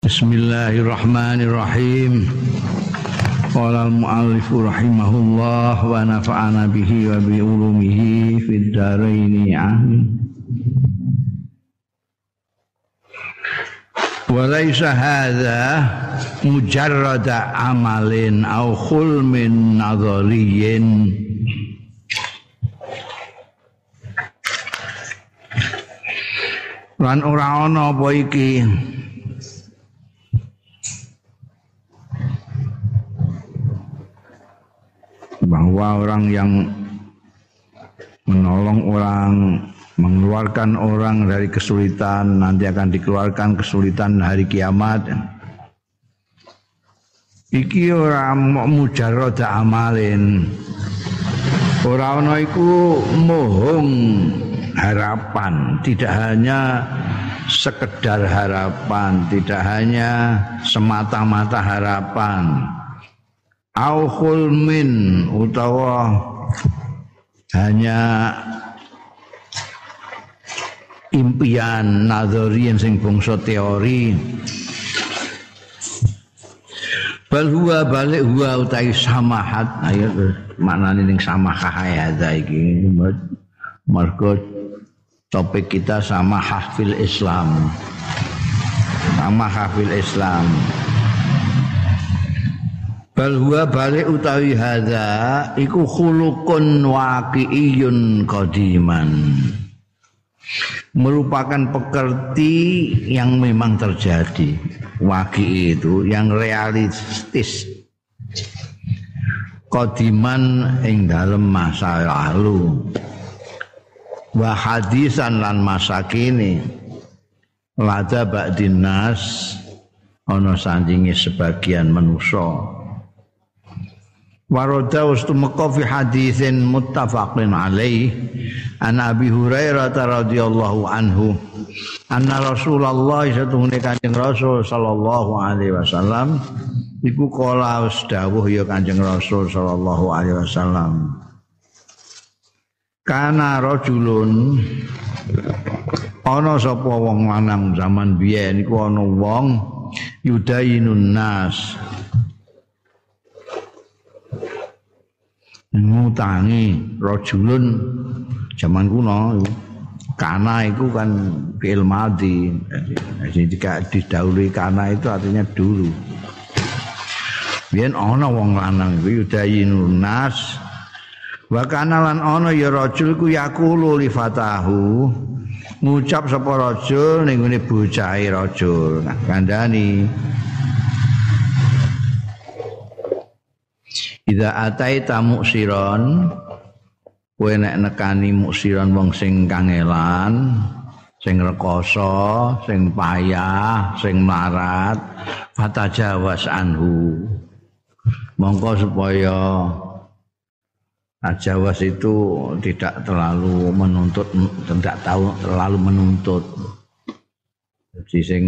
Bismillahirrahmanirrahim. Qala al-mu'allif rahimahullah wa nafa'ana bihi wa bi ulumihi fid dharain amin. Wa laysa hadza mujarrada amalin aw khulmin nadhariyin. Lan ora ana apa iki bahwa orang yang menolong orang, mengeluarkan orang dari kesulitan nanti akan dikeluarkan kesulitan hari kiamat. Iki ora mujarrad amalin. Ora ana iku mohong harapan, tidak hanya sekedar harapan, tidak hanya semata-mata harapan. Au khulmin utawa hanya impian nadharian sing bangsa teori. Bal huwa balik huwa utai samahat. Ayo maknane ning samahah hadza iki mergo topik kita samahah fil Islam. Samahah fil Islam. Bal huwa balik utawi hadza iku khuluqun waqi'iyun qadiman, merupakan pekerti yang memang terjadi. Waqi' itu yang realistis, qadiman ing dalem masa lalu, wa hadisan lan masa kini, lada ba'din nas ana sandinge sebagian manusa. Warada ustumqa fi haditsin muttafaqin alaih an Abi Hurairah radhiyallahu anhu anna Rasulullah satuhune Kanjeng Rasul sallallahu alaihi wasallam iku kala dawuh ya Kanjeng Rasul sallallahu alaihi wasallam, kana rajulun ana sapa wong lanang zaman biyen iku ana wong yudayinun nas ngutangi rajulun zaman kuno. Kana itu kan fi'il madhi, jadi jika didahului kana itu artinya dulu. Biyen ana wong lanang iku yudayinun nas wa kana lan ana ya rajul ku yaqulu li fatahu, ngucap sapa rajul ning ngene bocahe rajul kandhani, idza ataita muksiron, kowe nek nekani muksiron wong sing kangelan, sing rekoso, sing payah, sing melarat, fatajawas anhu, mongko supaya ajawas itu tidak terlalu menuntut, tidak tahu terlalu menuntut. Jadi sing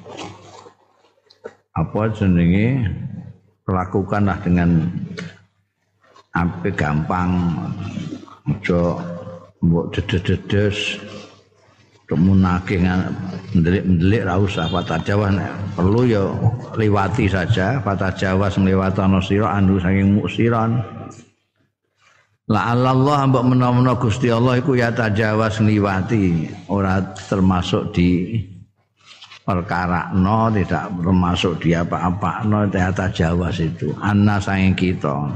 apa jenenge lakukanlah dengan ape gampang, aja mbok dedes-dedes kemunake ndelik-ndelik ra usah. Fatajawas perlu ya liwati saja, fatajawas ngliwatana sira anu saking muksiran. La Allah mbok menawa Gusti Allah iku ya tajawas ngliwati, ora termasuk di perkara no, tidak termasuk di apa-apa no, ternyata Jawas itu anna saking kita.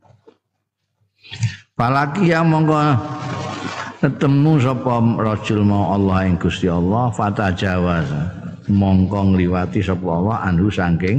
Palaki yang mongko ketemu sapa rajul mau Allah ing Gusti Allah, fata Jawas mongko ngliwati sapa Allah anhu saking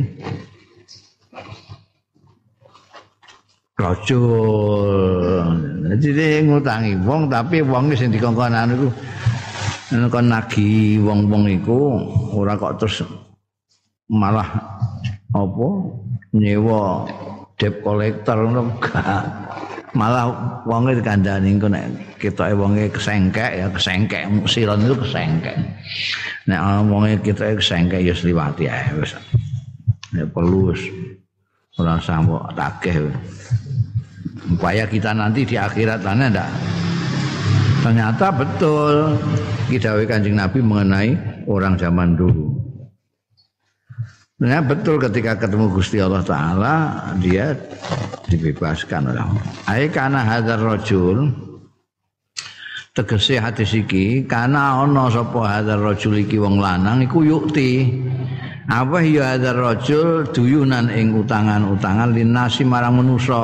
rajul. Jadi ngutangi wong tapi wong sing dikongkonan iku kon nagih wong-wong iku ora kok terus malah apa nyewa debt collector ngono gak. Malah wonge dikandani engko nek ketoke wonge kesengkek ya kesengkek, siron itu kesengkek. Nek wonge ketoke kesengkek ya liwati ae wis. Nek perlu ora sampo takeh. Upaya kita nanti di akhirat sana ndak. Ternyata betul dawuh Kanjeng Nabi mengenai orang zaman dulu. Nah, betul ketika ketemu Gusti Allah Ta'ala dia dibebaskan oleh Allah. Ai kana hadzal rajul tegese hadis iki kana ana sapa hadzal rajul iki wong lanang iku yukti apa ya hadzal rajul duyunan ing utangan-utangan linasi marang manusa.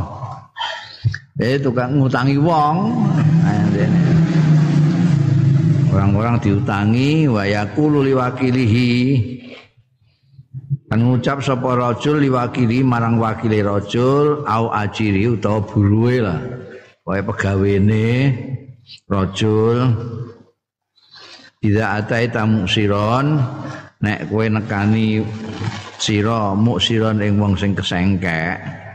Tukang ngutangi wong. Orang-orang diutangi wa yaqulu liwakilihi kan ngucap sapa rajul liwakili marang wakile rajul au ajiri utawa buruhe lah wae pegawene rajul idza ataita muksiron nek kowe nekani sira muksiron ing wong sing kesengkek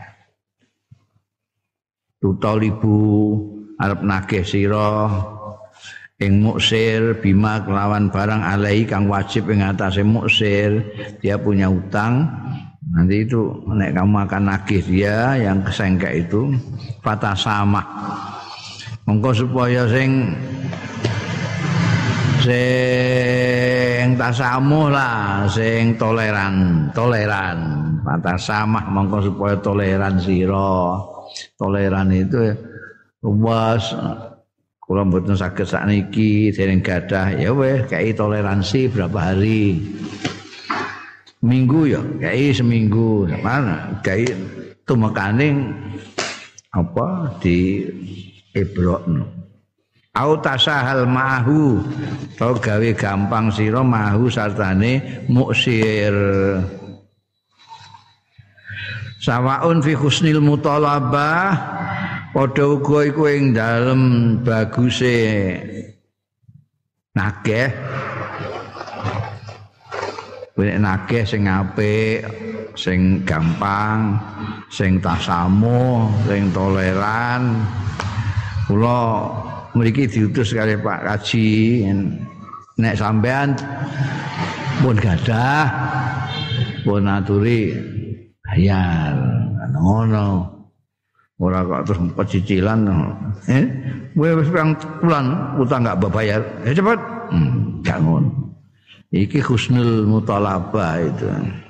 tutalibu arep nagih sira ing muksir bima kelawan barang alai kang wajib ing atase muksir dia punya utang nanti itu nek kamu akan nagih dia yang kesengkek itu fatasama mongko supaya sing tasamuh lah sing toleran fatasama mongko supaya toleran sira toleran itu luas. Kula mboten saged sakniki dereng gadah ya weh kei toleransi berapa hari. Minggu ya, kei seminggu. Mana kei tumekaning apa di ibrokno. Au tasahal ma'hu to gawe gampang sira ma'hu sartane muksir. Sawaun fi husnil mutalabah padha uga iku ing dalem baguse nagih. Nek nagih sing apik, sing gampang, sing tasamuh, sing toleran. Kula mriki diutus kali Pak Kaji nek sampean pun gadah pun aturi bayar ngono. Ora kok terus pecicilan. Wis pirang bulan utang enggak bayar. Cepet. Enggak ngono. Iki husnul mutalabah itu.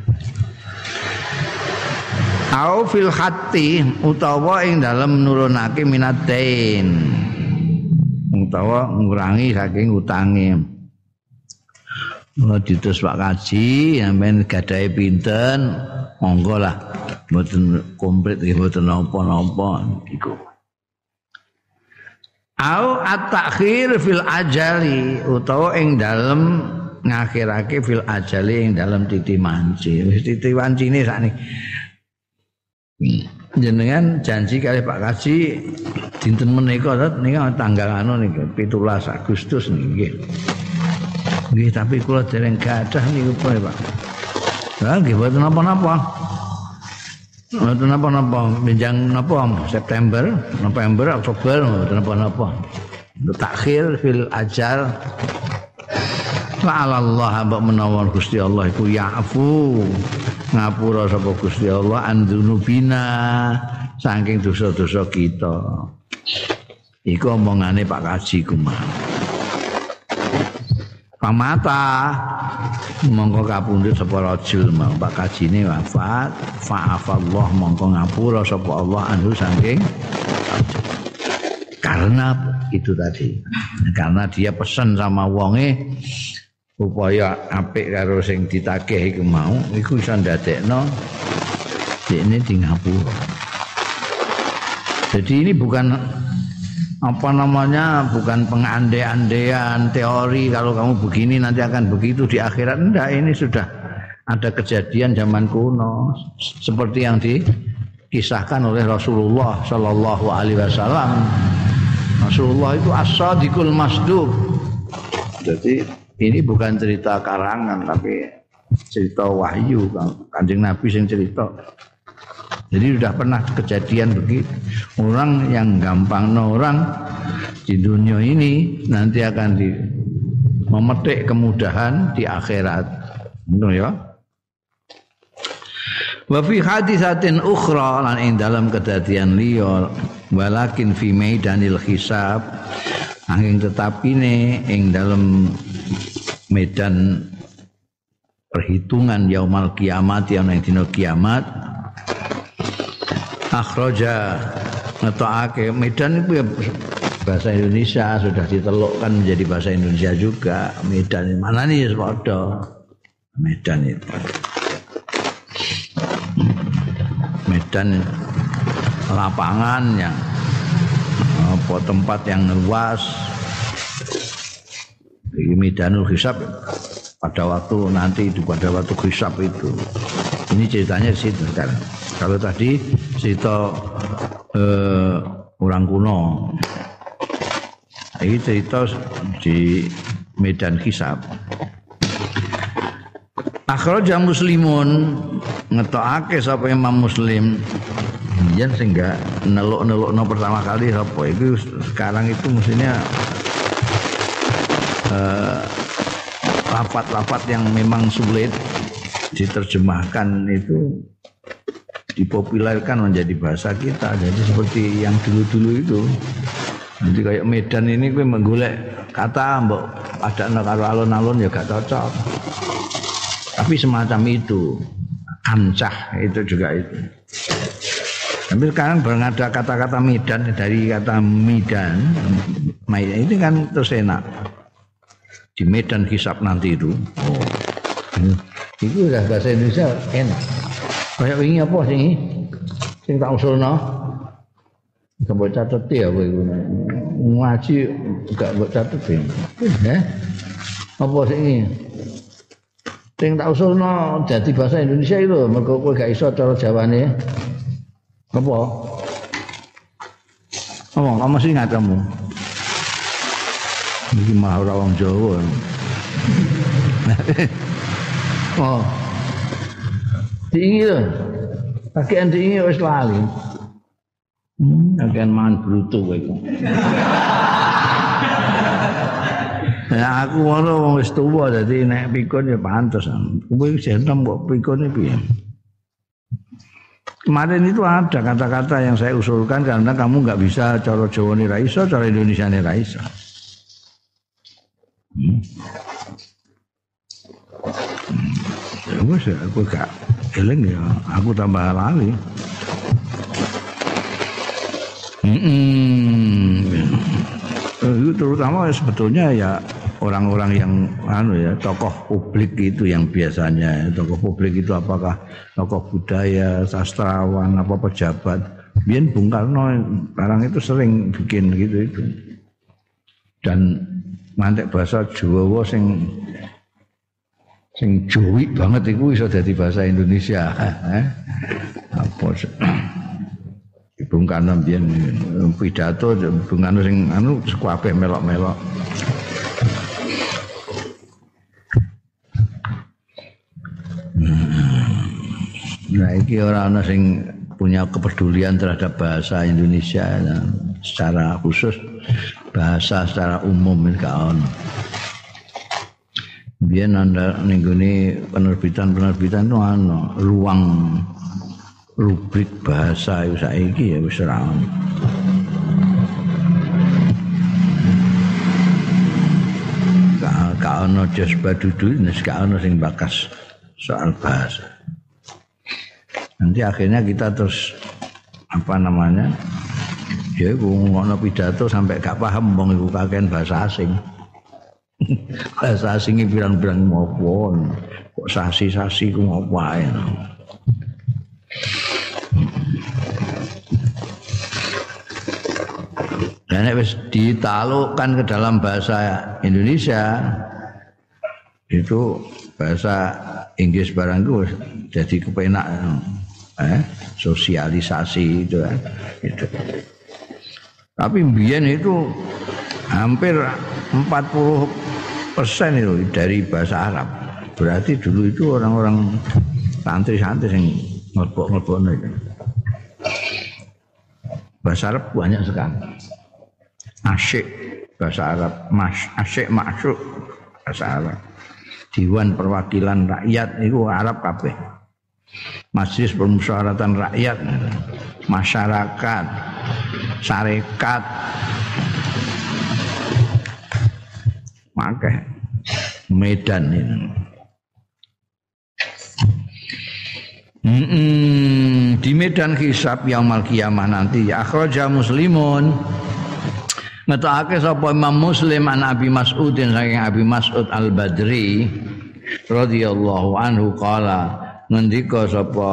Au fil khatti utawa ing dalem nurunake minatain. Utawa ngurangi saking utange. Mula ditus Pak Kaji sampeyan gadahe pinten monggo lah. Mboten komplit nggih mboten napa-napa iku. Au at-takhir fil ajali utawa ing dalem ngakhirake fil ajali ing dalem titi manci. Wis titi wancine sakniki. Jenengan janji kali Pak Kaji dinten menika tanggal anu niki 17 Agustus niki. Nggih tapi kula dereng gadah niku Pak. Lah nggih mboten napa-napa. Mboten napa-napa, benjang napa September, November, Oktober mboten napa-napa. Takhir fil ajal. Fa'alallah mbok menawa Gusti Allah iku ya'fu. Ngapura sapa Gusti Allah andunubina saking dosa-dosa kita. Iku omongane Pak Kaji kumah. Pamata mongko kapundhut sapa rajul mau Pak Kajine wafat fa'afallah mongko ngapura sapa Allah anhu saking karena itu tadi karena dia pesan sama wonge supaya apik karo sing ditagih iku mau iku iso ndadekno dekne di ngapura. Jadi ini bukan bukan pengandai-andaian teori kalau kamu begini nanti akan begitu di akhirat. Enggak, ini sudah ada kejadian zaman kuno seperti yang dikisahkan oleh Rasulullah Shallallahu Alaihi Wasallam. Rasulullah itu as-sadiqul masduq. Jadi ini bukan cerita karangan tapi cerita wahyu Kanjeng Nabi yang cerita. Jadi sudah pernah kejadian begitu. Orang yang gampang orang di dunia ini nanti akan memetik kemudahan di akhirat. Betul ya? Wa fi hadisatin ukhra lan ing dalam kedadian liya walakin fi maidanil hisab angin tetapine ing dalam medan perhitungan yaumal kiamat yang dina kiamat. Akhraja ngetokake Medan itu ya bahasa Indonesia sudah ditelukkan menjadi bahasa Indonesia juga. Medan mana nih padha Medan itu. Medan lapangan yang apa tempat yang luas. Ini Medanul Hisab pada waktu nanti itu pada waktu hisab itu. Ini ceritanya di situ sekarang. Kalau tadi cerita orang kuno. Ini cerita di Medan Hisab. Akhraja Muslimun ngetokake sapa Imam Muslim. Yen sehingga neluk-nelukno pertama kali apa itu sekarang itu mestinya lafaz-lafaz yang memang sulit diterjemahkan itu dipopulerkan menjadi bahasa kita. Jadi seperti yang dulu-dulu itu. Nanti kayak Medan ini gue menggolek kata mbok padakno karo alun-alun ya gak cocok. Tapi semacam itu. Ancah itu juga itu. Tapi sekarang ada kata-kata Medan dari kata Medan itu kan terus enak. Di Medan Hisab nanti itu. Oh. Itu udah bahasa Indonesia enak. Kayak ini apa sih? Sing tak usulno. Gak mbok catet ya kowe iku. Ngaji gak mbok catet ya. Apa sih ini? Sing tak usulno dadi bahasa Indonesia itu mergo kowe gak iso cara Jawane. Apa? Oh, kamu sih ingat kamu. Ini mah orang Jawa. Oh. Diingi lho. Pakaian diingi wis lali. Pakaian mangan bruto kowe iku. Ya aku ngono wis tuwa dadi nek pikun ya pantes. Kowe wis enom kok pikune piye? Kemarin itu ada kata-kata yang saya usulkan karena kamu nggak bisa cara Jawa ni ra iso, cara Indonesia ni ra iso. Ya wis aku gak eling ya, aku tambah lali. Itu terutama sebetulnya ya orang-orang yang tokoh publik itu yang biasanya tokoh publik itu apakah tokoh budaya, sastrawan, apa pejabat. Biyen Bung Karno barang itu sering bikin gitu itu. Dan mantek bahasa Jawa sing Jawi banget iku iso dadi bahasa Indonesia. Apa Bung Karno biyen pidato Bung Karno sing kabeh melok-melok. Nah, iki ora ana sing punya kepedulian terhadap bahasa Indonesia secara khusus, bahasa secara umum gak ono. Biyen ana ning gone penerbitan itu ana ruang rubrik bahasa saiki ya wis ora ono. Gak ono Jasba Dudu, gak ono sing bakas soal bahasa. Nanti akhirnya kita terus ya ngono pidato sampai gak paham wong iku kakean bahasa asing. Bahasa asing iki pirang-pirang ngopo. Kok sasi-sasi ku ngopo ae. Dan wis ditalukkan ke dalam bahasa Indonesia itu bahasa Inggris barang itu jadi kepenak sosialisasi itu kan gitu. Tapi mbiyen itu hampir 40% itu dari bahasa Arab. Berarti dulu itu orang-orang santri-santri yang ngelbok-ngelbokno itu. Bahasa Arab banyak sekali. Asyik bahasa Arab, asyik maksud bahasa Arab. Dewan Perwakilan Rakyat itu Arab kabeh. Majelis Permusyawaratan Rakyat, masyarakat, syarikat, makanya Medan ini. Di medan hisab yaumul qiyamah nanti akhraja Muslimun ngetokake sapa Imam Muslim an Abi Mas'udin saking Abi Mas'ud Al-Badri radhiyallahu anhu qala ngendika sapa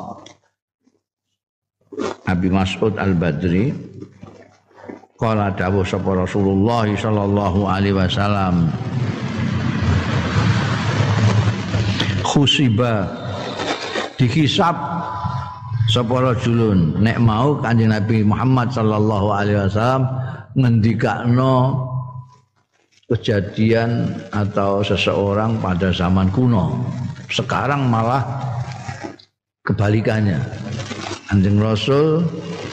Abi Mas'ud Al-Badri qala dawuh sapa Rasulullah sallallahu alaihi wasallam khusiba dihisab sapa rajulun nek mau Kanjeng Nabi Muhammad sallallahu alaihi wasallam ngendikakno kejadian atau seseorang pada zaman kuno. Sekarang malah kebalikannya. Kanjeng Rasul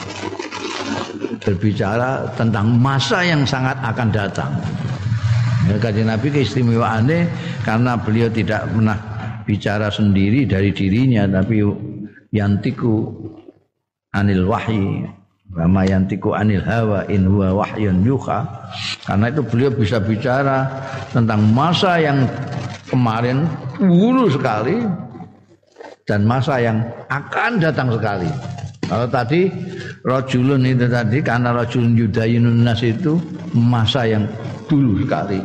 berbicara tentang masa yang sangat akan datang. Kanjeng Nabi keistimewaannya karena beliau tidak pernah bicara sendiri dari dirinya, tapi yantiku anil wahyi wa yantiku anil hawa in huwa wahyun yuha. Karena itu beliau bisa bicara tentang masa yang kemarin dulu sekali dan masa yang akan datang sekali. Kalau tadi rajulun itu tadi karena rajulun yudayinun nas itu masa yang dulu sekali.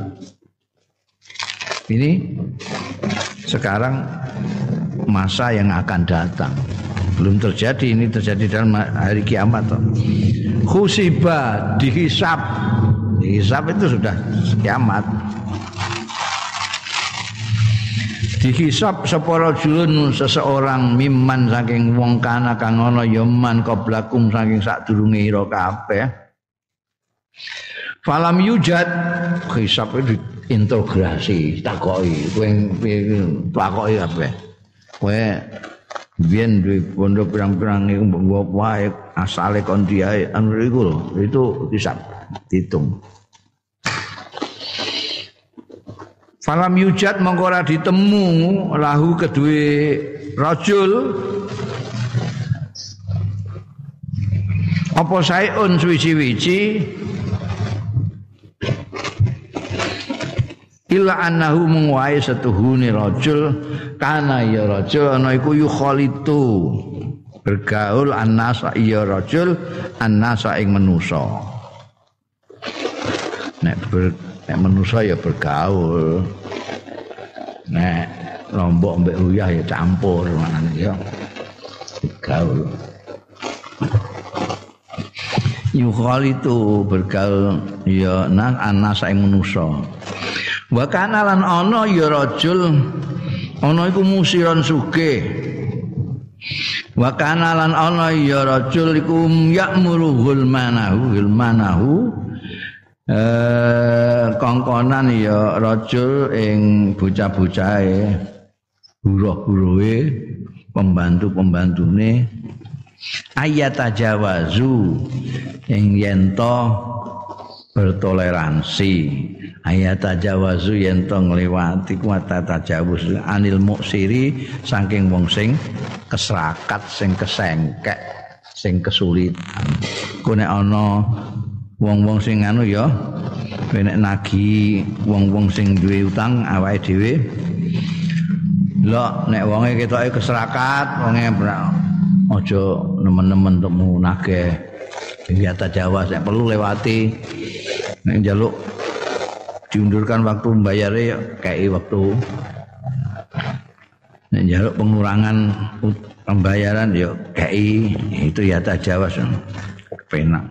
Ini sekarang masa yang akan datang. Belum terjadi, ini terjadi dalam hari kiamat. Khusiba dihisab. Dihisab itu sudah kiamat. Dihisab sapa rajulun seseorang mimman saking wong kana kang ana ya man qablakum saking sadurunge ira kabeh. Falam yujad hisab itu integrasi takoki kowe takoki kabeh. Kowe biyen duwe pondok pirang-pirang iku mbok wae asale kon diae anu iku lho itu hisab diitung. Falam yujad mongko ora ditemu lahu kedue rajul apa saeun suwi-wiji illa annahu mungwae setuhune rajul kana ya rajul ana iku yukhalitu bergaul annasa ya rajul annasa ing manusa nek manusa ya bergaul nek lombok mbek uyah ya campur manane ya bergaul yukhalitu bergaul ya annasa ing manusa. Wa kana lan ana ya rajul ana iku musiron sugih. Wa kana lan ana ya rajul iku ya'muruhul manahu kongkonan ya rajul ing bocah-bocahe buruh-buruhe pembantu-pembantune ayatajawazu ing yen to bertoleransi ayatajawazu yen to ngliwati kuwata tajawuz anil muksiri saking wong sing keserakat sing kesengkek sing kesulitan ku nek ana wong-wong sing anu ya nek nagih wong-wong sing duwe utang awake dhewe lho nek wonge ketoke keserakat wonge aja nemen-nemen temu nagih ayatajawas nek perlu lewati nek njaluk diundurkan waktu membayare ya kayak waktu nek njaluk pengurangan pembayaran ya kayak itu ya tajawas penak.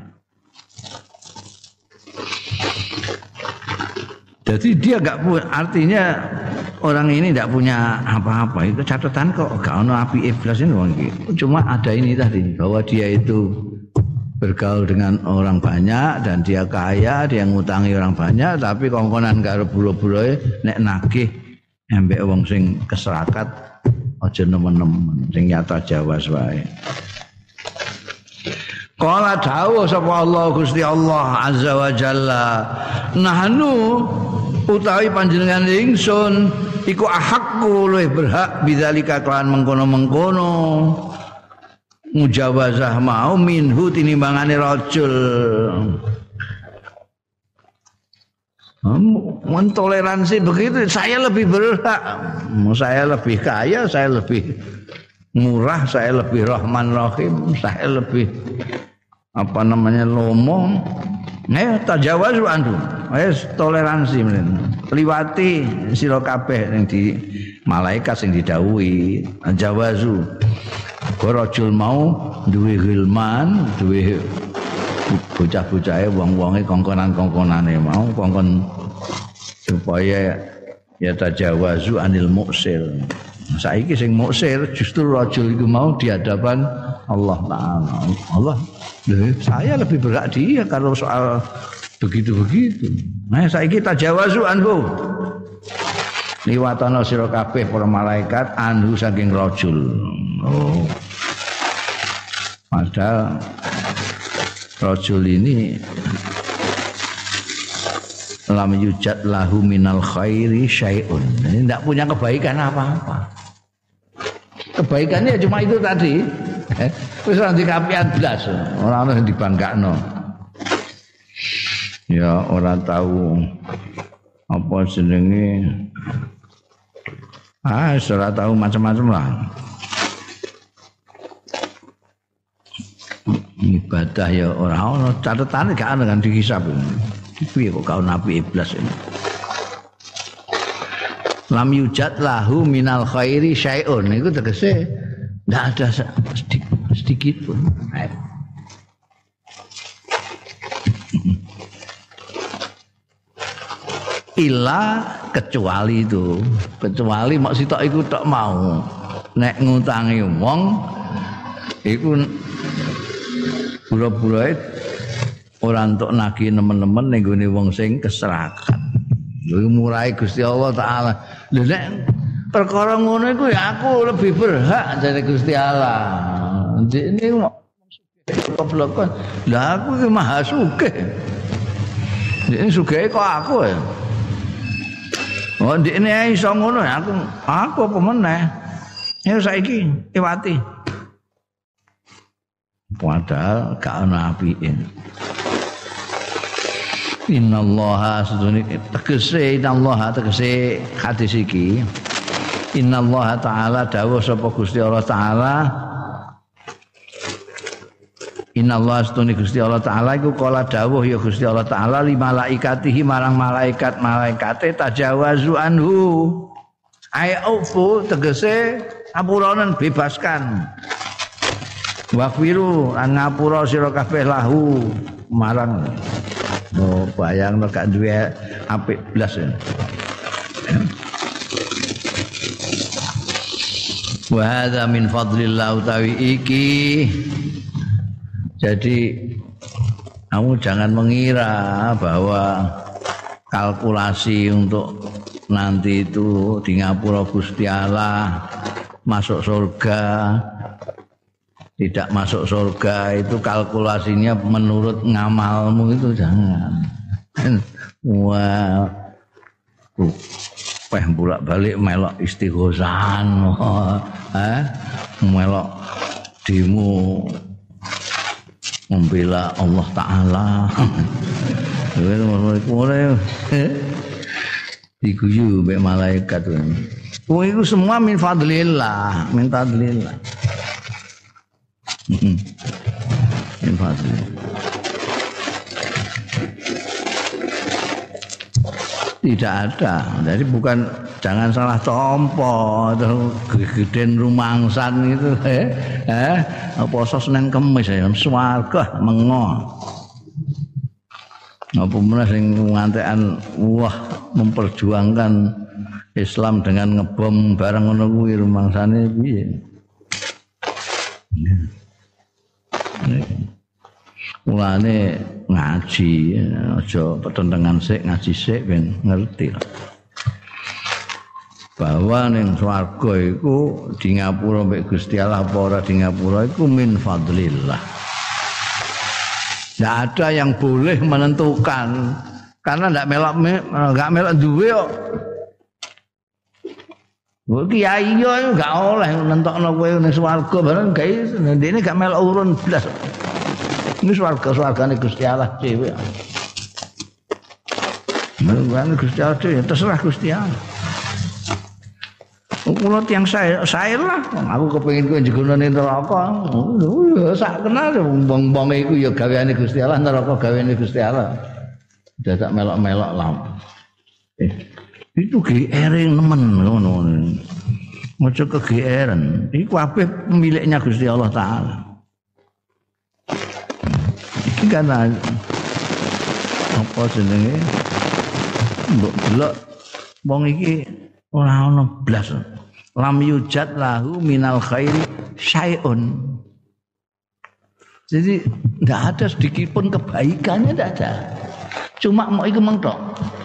Jadi dia enggak artinya orang ini enggak punya apa-apa itu catatan kok enggak ono api iblis ini wong iki. Cuma ada ini tadi bahwa dia itu bergaul dengan orang banyak dan dia kaya, dia ngutangi orang banyak tapi kongkonan karo bulo-buloe nek nagih embek wong sing keserakat aja nemen-nemen sing nyata jawas wae. Qala dawuh sapa Allah Gusti Allah Azza wa Jalla nahnu utawi panjenengan ingsun iku ahakku luwih berhak bidzalika kelawan mengkono-mengkono mujawazah mau minhu tinimbangane rajul. Mentoleransi begitu saya lebih berhak. Saya lebih kaya, saya lebih murah, saya lebih rahman rahim, saya lebih lomo. Tajawazu anhu. Toleransi men. Liwati sira kabeh ning di malaikat sing didhawuhi. Tajawazu. Rajul mau duwe gilman, duwe bocah-bocahe wong-wonge kongkonan-kongkonane mau kongkon supaya ya tajawazu anil muksir. Saiki sing muksir justru rajul iku mau di hadapan Allah Taala. Allah, saya lebih berat dia kalau soal begitu-begitu. Nah, saiki tajawazu anhu. Liwatana sira kabeh para malaikat anhu saking rajul. Oh. Padahal rajul ini lam yujad lahu minal khairi syai'un. Ini tidak punya kebaikan apa-apa. Kebaikannya cuma itu tadi. Wis ora dikapian blas, ora ono sing dibangkakno. Ya ora tahu apa jenenge. Ora tahu macam-macam lah. Ibadah ya ora ono catetane gak ono kan dihisab. Piye kok kau nabi iblis ini. Lam yujad lahu minal khairi syai'un. Itu tegese ndak ada sedikit pun. Ila kecuali itu. Kecuali mak sitok iku tok mau. Nek ngutangi wong iku pura-pura ora entuk nagih nemen-nemen ning gone wong sing keserakan. Lha murahe Gusti Allah taala. Lha nek perkara ngono iku ya aku lebih berhak dari Gusti Allah. Ndekne goblokon. Lah aku iki maha sugih. Ndekne sugih kok aku ya. Oh ndekne iso ngono ya aku apa meneh. Ya saiki iwati. Padahal gak ana apike. Innallaha tegese hadis iki. Innallaha ta'ala dawuh sapa Gusti Allah taala. Innallaha astune Gusti Allah taala iku kala dawuh ya Gusti Allah taala li malaikatihi marang malaikate tajawazu anhu. Ai'ufu tegese apuranen bebaskan. Wafiru an ngapura sira kabeh lahu marang. Oh bayangno gak duwe apik blas ya. Wa hadza min fadlillah utawi iki. Jadi kamu jangan mengira bahwa kalkulasi untuk nanti itu di ngapura Gusti Allah masuk surga tidak masuk surga itu kalkulasinya menurut ngamalmu itu jangan. Wah, bolak-balik melok istighosan, melok dimu membela Allah Taala. Diguyu mbek malaikat. Wong iku semua min fadlillah, min fadlillah. Tidak ada. Jadi bukan jangan salah tompo atau gegeden rumangsan itu poso Senin Kamis ya swarga mengo. Apa meneh sing ngantekan wah memperjuangkan Islam dengan ngebom barang ngono kuwi rumangsane piye. Mulane ngaji aja petentengan sik ngaji sik ben ngerti bahwa ning swarga iku di ngapura mek Gusti Allah apa ora di ngapura iku min fadlillah. Tidak ada yang boleh menentukan karena enggak melok duwe kok. Kok kiai yo enggak oleh nentokno kowe ning swarga bareng gawe ndekne gak melok urun blas. Ini swarga-swargane Gusti Allah dhewe. Menurut Gusti Allah dhewe terserah Gusti Allah. kula tiyang sae lah. Aku kepengin kowe njegonane neraka. Ya sak kenal wong-wong iku ya gaweane Gusti Allah, neraka gaweane Gusti Allah. Dadak melok-melok lah. Itu GR nemen ngono. Ojo kegeeran. Iku kabeh miliknya Gusti Allah taala. Iki kan apa jenenge? Mbok delok wong iki ora ono blas. Lam yujad lahu minal khairi syai'un. Jadi enggak ada sedikit pun kebaikannya, enggak ada. Cuma mau iku mentok.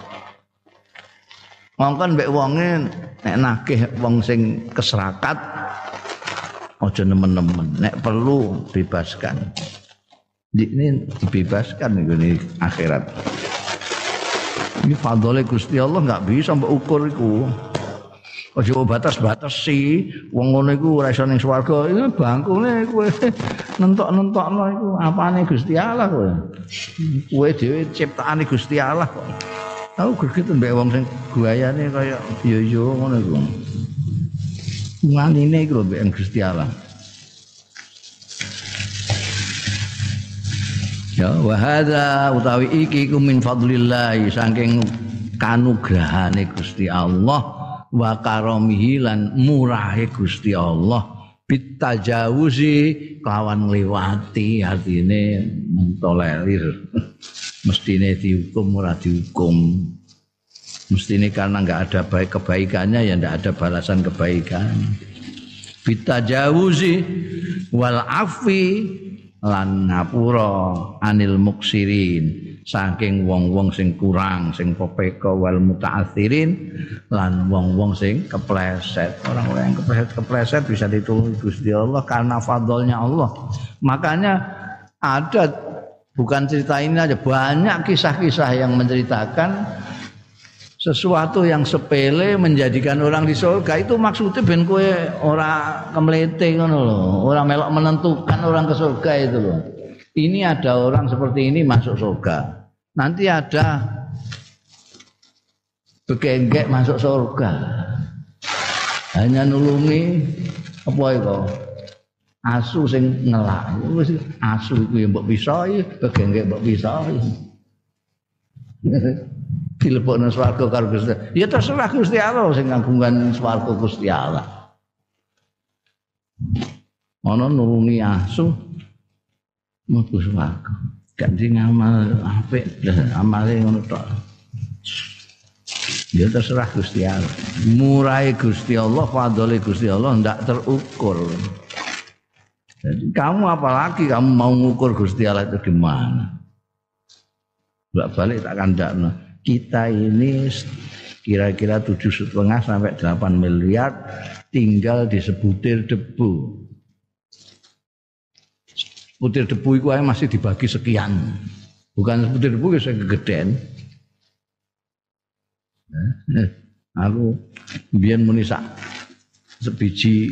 Mongkon mbek wonge nek nagih wong sing keserakat aja nemen-nemen. Nek perlu bebaskan. Ini dibebaskan ngene akhirat. Ini fadhole Gusti Allah enggak bisa mbok ukur iku. Aja batas-batas sih wong ngono iku ora iso ning swarga. Iki bangkune kowe nentok-nentokno iku apane Gusti Allah kowe. Kowe dhewe ciptaane Gusti Allah kok. Aku greget mbek wong sing guayane kaya yo ngono iku. Wanine iku mbek Gusti Allah. Ya wa hadza utawi iki ku min fadlillah saking kanugrahane Gusti Allah wa karamihi lan murahe Gusti Allah bitajawuzi kelawan ngliwati artine mentolerir. Mestine dihukum ora dihukum. Mestine karena enggak ada baik kebaikannya ya enggak ada balasan kebaikan. Bitajawuzi wal afi lan ngapura anil muksirin saking wong-wong sing kurang sing popeka wal muta'atsirin lan wong-wong sing kepleset. Orang-orang yang kepleset bisa ditulungi Gusti Allah karena fadlnya Allah. Makanya ada bukan cerita ini aja, banyak kisah-kisah yang menceritakan sesuatu yang sepele menjadikan orang di surga. Itu maksudnya ben kowe ora kemlete ngono lho, ora melok menentukan orang ke surga itu loh. Ini ada orang seperti ini masuk surga. Nanti ada begenggek masuk surga. Hanya nulungi apa itu? Asu sing ngelak. Wis asu iku ya mbok pisahi, begenggek mbok pisahi. Dilebokno swarga karo Gusti. Ya terserah Gusti Allah sing ngagungan swarga Gusti Allah. Ana nulungi asu mlebu swarga. Ganti ngamal apik, amale ngono tok. Ya terserah Gusti Allah. Murahe Gusti Allah, fadhole Gusti Allah ndak terukur. Jadi kamu apalagi kamu mau ngukur Gusti Allah itu gimana? Balik tak kandakno. Kita ini kira-kira 7,5 sampai 8 miliar tinggal di sebutir debu. Sebutir debu itu masih dibagi sekian. Bukan sebutir debu yang kegedean. Aku biyen muni sak sebiji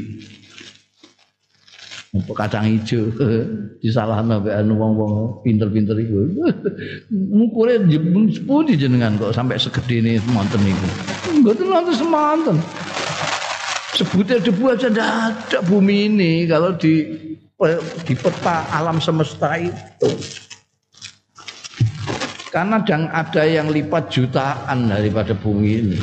kacang hijau disalahno mbek anu wong-wong pinter-pinter iku. Ngukure sepundi jenengan kok sampai segedene semonten niku. Mboten wonten semonten. Sebutir debu aja ndak ada bumi ini kalau di peta alam semesta itu. Karena ada yang lipat jutaan daripada bumi ini.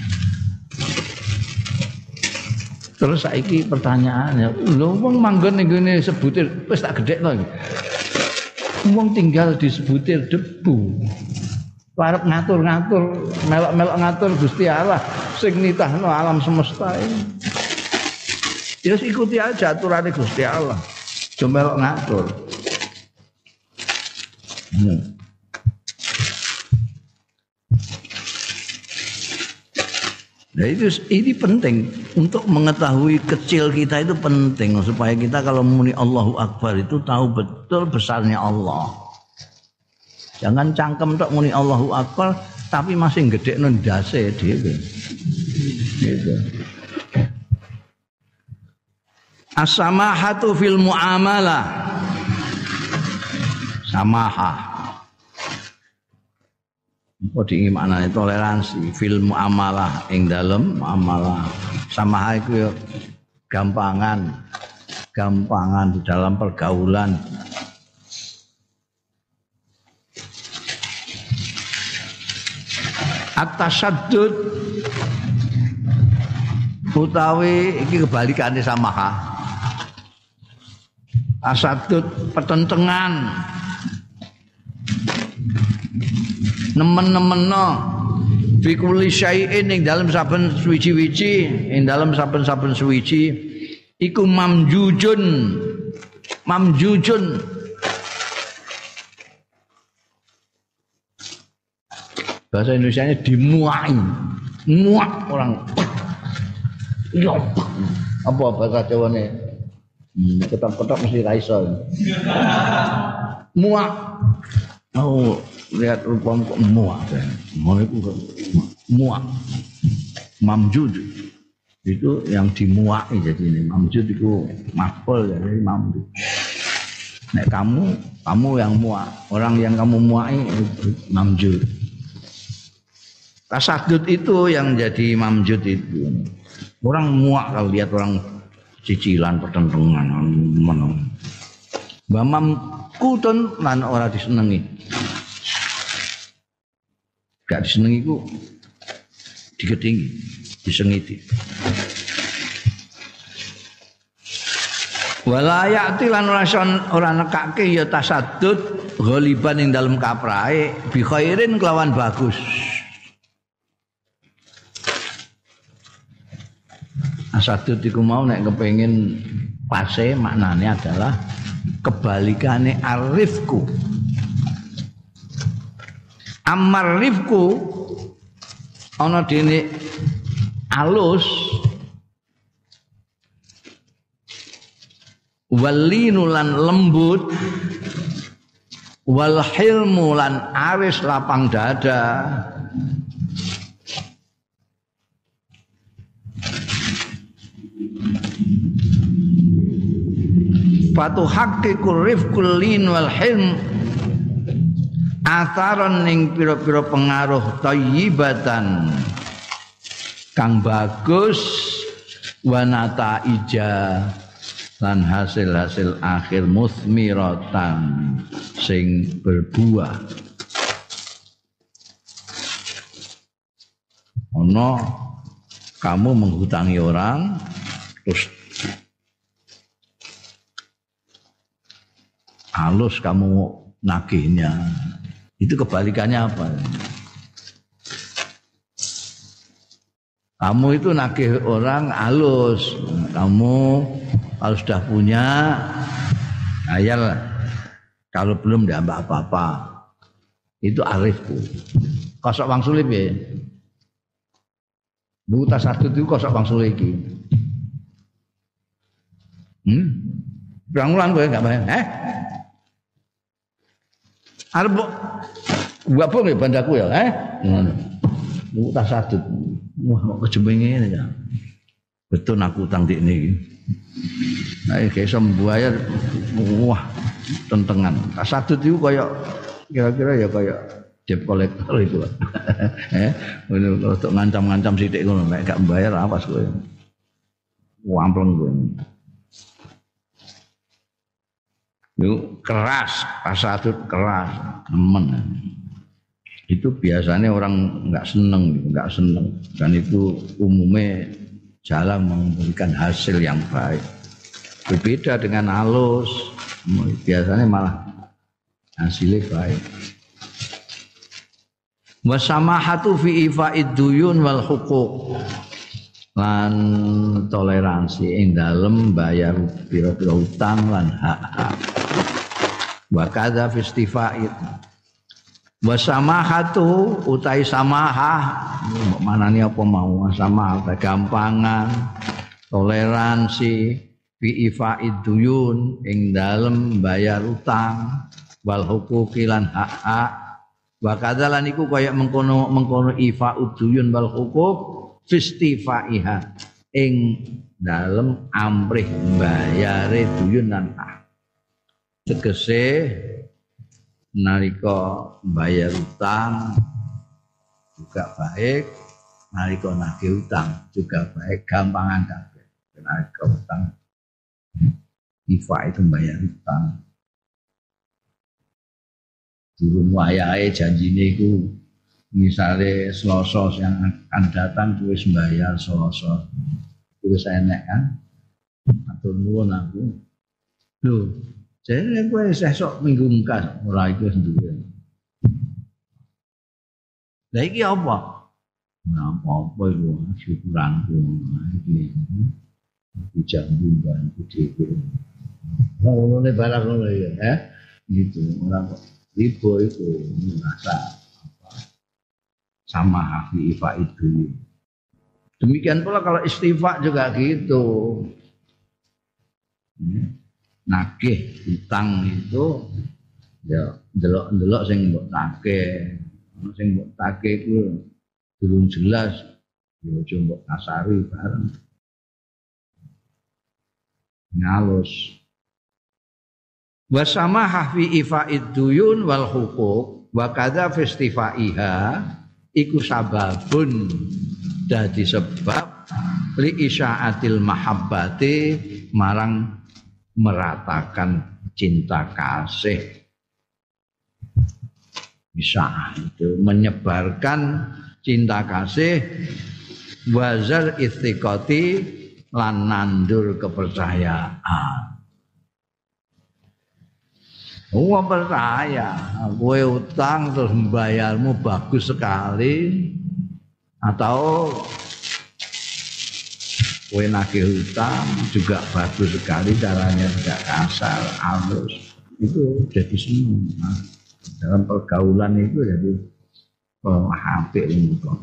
Terus saiki pertanyaannya, lho wong manggon ning ngene sebutir wis tak gedhekno iki. Wong tinggal di sebutir debu. Arep ngatur-ngatur, melok-melok ngatur Gusti Allah sing nitahno alam semesta ini. Ya ikuti aja aturane Gusti Allah. Aja melok ngatur. Nah ini penting untuk mengetahui kecil kita itu penting supaya kita kalau muni Allahu Akbar itu tahu betul besarnya Allah. Jangan cangkem tok muni Allahu Akbar tapi masih gedhekno ndase dhewe. Gitu. As-samahatu fil muamalah. Samahah. apa maknane toleransi fil muamalah ing dalem muamalah samaha iku ya gampangan di dalam pergaulan. At-tasaddud utawi iki kebalikane samaha. Tasaddud pertentangan. Nemen-nemenno fi kulli syai'in ing dalem saben suwiji-wiji, ing dalem saben-saben suwiji iku mamjujun. Bahasa Indonesianya dimuai. Muak orang. Iya. Apa bahasa Jawane? Ketok-ketok mesti ra iso. Muak. Oh, lihat rupamu kok muak. Ngono iku muak. Mamjud. Itu yang dimuai jadi ini. Mamjud itu maf'ul jadi mamjud. Nek kamu yang muak, orang yang kamu muai mamjud. Tasaddud itu yang jadi mamjud itu. Orang muak kalau lihat orang cicilan pertentangan meneng. Bamam kutun lan ora disenengi. Gak disenengi ku digedingi, disengiti. Wala ya'ti lan ora nekake ya tasaddud ghaliban ing dalem kaprahe bi khairin kelawan bagus. Tasaddud iku mau nek kepengin pase maknane adalah kebalikane arifku. Amar rifku ana dene alus walinu lan lembut wal hilmu lan aris lapang dada. Fatu haqiqur rifqul lin wal hilm atharon ning pira-pira pengaruh thayyibatan kang bagus wanata ija lan hasil-hasil akhir musmiratan sing berbuah. Ono kamu menghutangi orang terus halus kamu nagihnya, itu kebalikannya apa? Kamu itu nagih orang halus, kamu kalau sudah punya ayal, kalau belum tidak apa-apa. Itu arifku. Kosok wang sulip ya. Bu tasaddud itu kosok wang sulip iki. Berang-ulang gue enggak bayang. Arep gua apa nggih bandaku ya, ngono. Bu tasaddud. Wah, kok kejemenge ngene ya. Betul aku utang dik niki. Nek iso mbayar wah tentengan. Tasaddud itu koyo kira-kira ya koyo debt collector itu. Ngono untuk ngancam-ngancam sithik ngono, nek gak mbayar awas kowe. Wampleng kowe. Itu keras, tasaddud keras, nemen. Itu biasanya orang enggak seneng, dan itu umumnya jarang memberikan hasil yang baik. Berbeda dengan halus, biasanya malah hasilnya baik. Wasamahatu fi ifa'id duyun wal huquq. Lan toleransi ing dalem bayar pira-pira utang lan hak-hak. Wa kadza fi istifa'id. Wa samahatu utai samahah manane apa mau samahah kegampangan toleransi fi ifa'id duyun ing dalem bayar utang wal huquqi lan hak-hak. Wa kadza lan iku kaya mengkono ifa'ud duyun wal huquq fistifaiha ing dalem amrih bayare duyun lan tegese nalika bayar utang juga baik, nalika nagih utang juga baik, gampangan kabeh. Nalika utang ifa itu bayar utang. Durung wayahe janjine iku misale Selasa yang akan datang wis bayar Selasa. Wis enek kan. Atur nuwun aku. Lho, jane kowe sesuk minggu engkas ora iku wis duwe. Lah iki apa? Nah, apa iku syukuranku iki. Iki jambu bantu dhewe. Ngono ne barang ngono ya, gitu. Ora kok ribo itu merasa sama hafi ifa itu. Demikian pula kalau istifa juga gitu. Nagih utang itu ya ndelok-ndelok sing mbok tagih. Sing mbok tagih iku durung jelas ya aja mbok kasari bareng. Ngalus. Wa samahah fi ifa'id duyun wal huquq wa kadza festifaiha iku sababun dadi sebab li isya'atil mahabbati marang meratakan cinta kasih. Bisa itu menyebarkan cinta kasih wazal istiqati lan nandur kepercayaan. Wong percaya, kowe utang terus membayarmu bagus sekali atau kowe nagih utang juga bagus sekali caranya tidak kasar, halus. Itu jadi senang. Dalam pergaulan itu jadi hampir itu.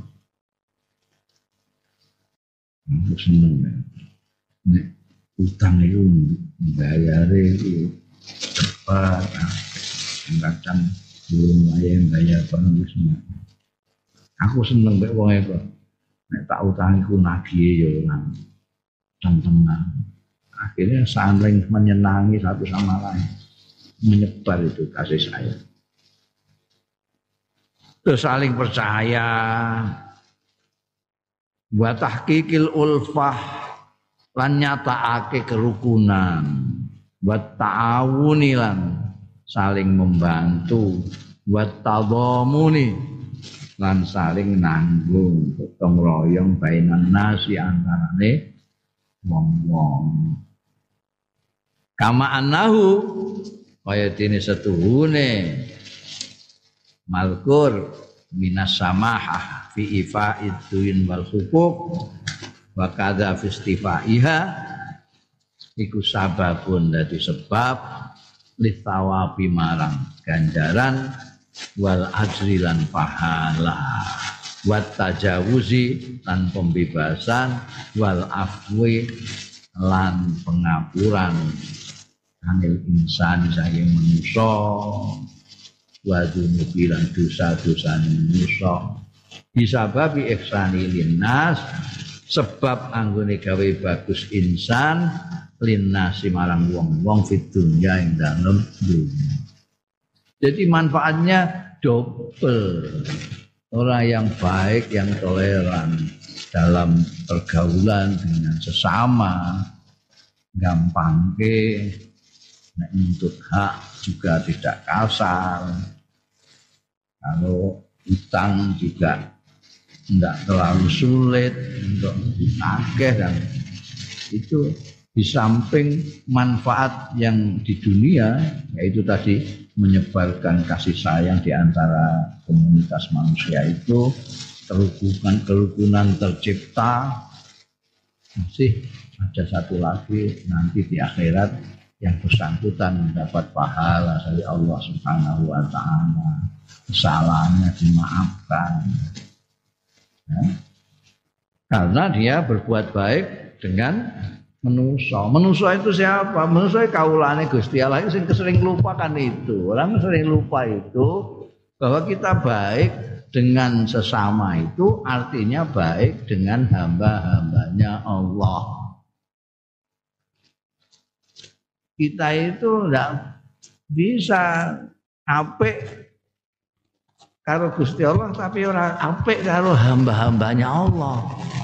Aku senang ya. Nek utang itu bayare itu cepat, kadang belum yang bayar penuh semua. Aku seneng mbek wong iku. Nek tak utangiku nagih ya ora tenang. Akhirnya saling menyenangi satu sama lain. Menyebar itu kasih sayang. Terus saling percaya. Wa tahqiqil ulfah lan nyatakake kerukunan. Wa ta'awuni lan saling membantu. Wa tadhamuni lan saling nanggung gotong royong bainan nasi antarane wong-wong. Kama annahu kaya dene setuhune malkur minas samahah fi ifa'id duin wal huquq wa kadza fi istifaiha iku sababun dadi sebab lithawabi marang ganjaran wal ajri lan pahala wat tajawuzi lan pembebasan wal afwi lan pengapuran anil insan saking manusa wa dunubi lan dosa-dosa manusa bisa babi ihsani linnas sebab anggone gawe bagus insan linnasi marang wong-wong fid dunya ing dalem dunya. Jadi manfaatnya double. Orang yang baik, yang toleran dalam pergaulan dengan sesama, gampang ke, untuk hak juga tidak kasar. Kalau utang juga tidak terlalu sulit untuk ditagih dan itu di samping manfaat yang di dunia yaitu tadi menyebarkan kasih sayang di antara komunitas manusia itu kerukunan tercipta masih ada satu lagi nanti di akhirat yang bersangkutan mendapat pahala dari Allah Subhanahu wa taala kesalahannya dimaafkan ya. Karena dia berbuat baik dengan Menusa itu siapa? Menusa kaulane Gusti Allah sing sering lupakan itu. Orang sering lupa itu bahwa kita baik dengan sesama itu artinya baik dengan hamba-hambanya Allah. Kita itu enggak bisa apik karo Gusti Allah tapi ora apik karo hamba-hambanya Allah.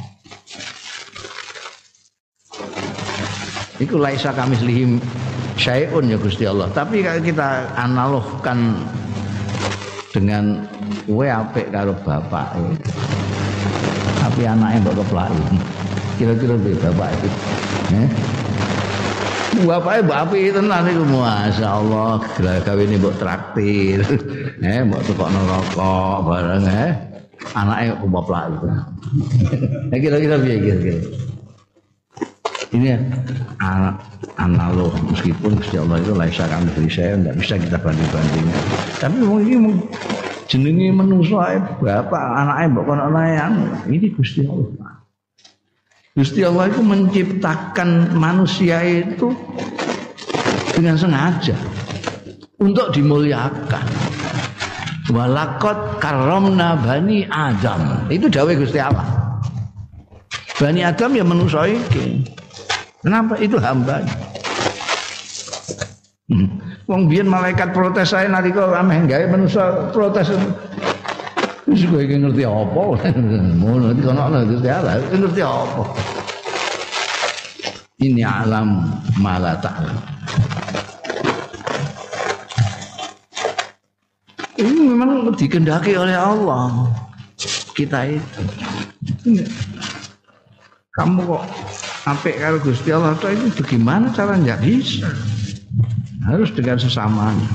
Iku laisa kamislihi syai'un ya Gusti Allah. Tapi kalau kita analogkan dengan kowe apik karo bapak, tapi anaknya mbok keplaki. Kira-kira bapak itu. Bapaknya mbak apik tenan iku masyaallah, gawene mbok traktir. Mbok tukokno rokok bareng anaknya keplaki itu. Kira-kira piye kira-kira. Ini analog meskipun Gusti Allah itu laisa kami beri saya tidak bisa kita banding-bandingkan. Tapi mungkin jenenge manusa bapak anaknya mbok kono ini Gusti Allah. Gusti Allah itu menciptakan manusia itu dengan sengaja untuk dimuliakan. Walaqad karramna bani Adam. Itu dawuh Gusti Allah. Bani Adam ya manusa iki. Kenapa? Itu hambanya. Wong biyen malaikat protes saya nalika ameh gawe manusa protes. Wis kowe iki ngerti apa? Ngono iki ana Gusti Allah, ngerti apa? Ini alam mala ta'lam. Ini memang dikehendaki oleh Allah. Kita itu. Kamu kok apik karo Gusti Allah itu bagaimana caranya? Enggak bisa. Harus dengan sesamanya.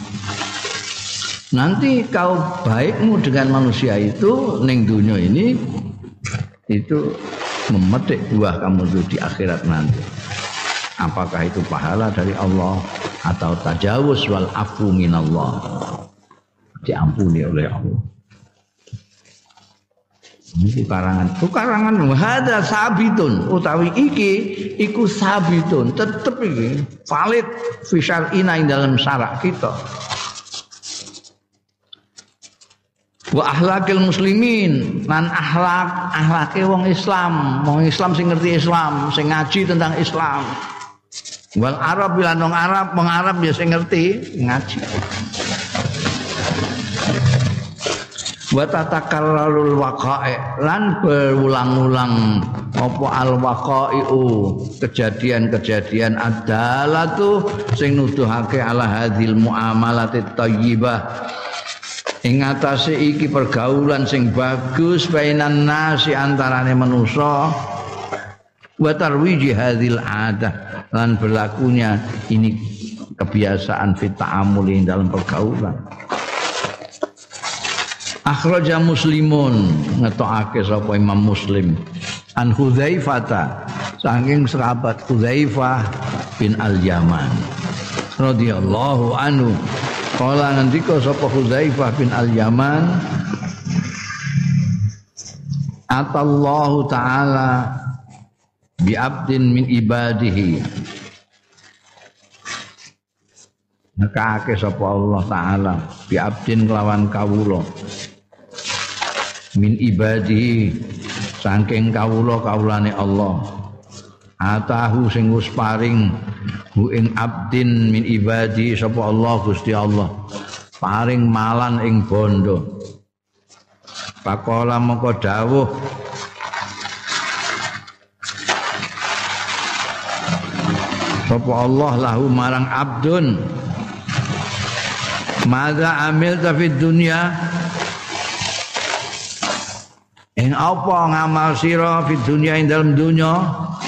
Nanti kau baikmu dengan manusia itu ning dunia ini itu memetik buah kamu itu di akhirat nanti. Apakah itu pahala dari Allah atau tajawuz wal afu minallah, diampuni oleh Allah. Ini karangan hada sabitun utawi iki iku sabitun tetep iki valid fi syar'ina ing dalam syarak kita. Wa akhlaqil muslimin lan akhlake wong Islam sing ngerti Islam, sing ngaji tentang Islam. Wal Arab lan wong Arab ya sing ngerti ngaji. Wa tatakarrarul waqa'i lan berulang-ulang apa al waqa'i'u kejadian-kejadian adalatu sing nuduhake ala hadhil muamalatit thayyibah ing atase iki pergaulan sing bagus bainan nasi antarane manusa wa tarwiji hadhil adah lan berlakunya ini kebiasaan fit ta'amuli dalam pergaulan. Akhraja Muslimun ngetokake sapa Imam Muslim an Hudzaifah saking sahabat Hudzaifah bin Al-Yaman radhiyallahu anhu kala ngendika sapa Hudzaifah bin Al-Yaman atallahu taala bi abdin min ibadihi nekake sapa Allah taala bi abdin kelawan kawula min ibadihi saking kawulane Allah atahu sing wis paring hu ing abdin min ibadi sapa Allah Gusti Allah paring malan ing bondo pakola moko dawuh sapa Allah lahu marang abdun madza amilta fid dunya ing apa ngamal sira fid dunya ing dalam dunya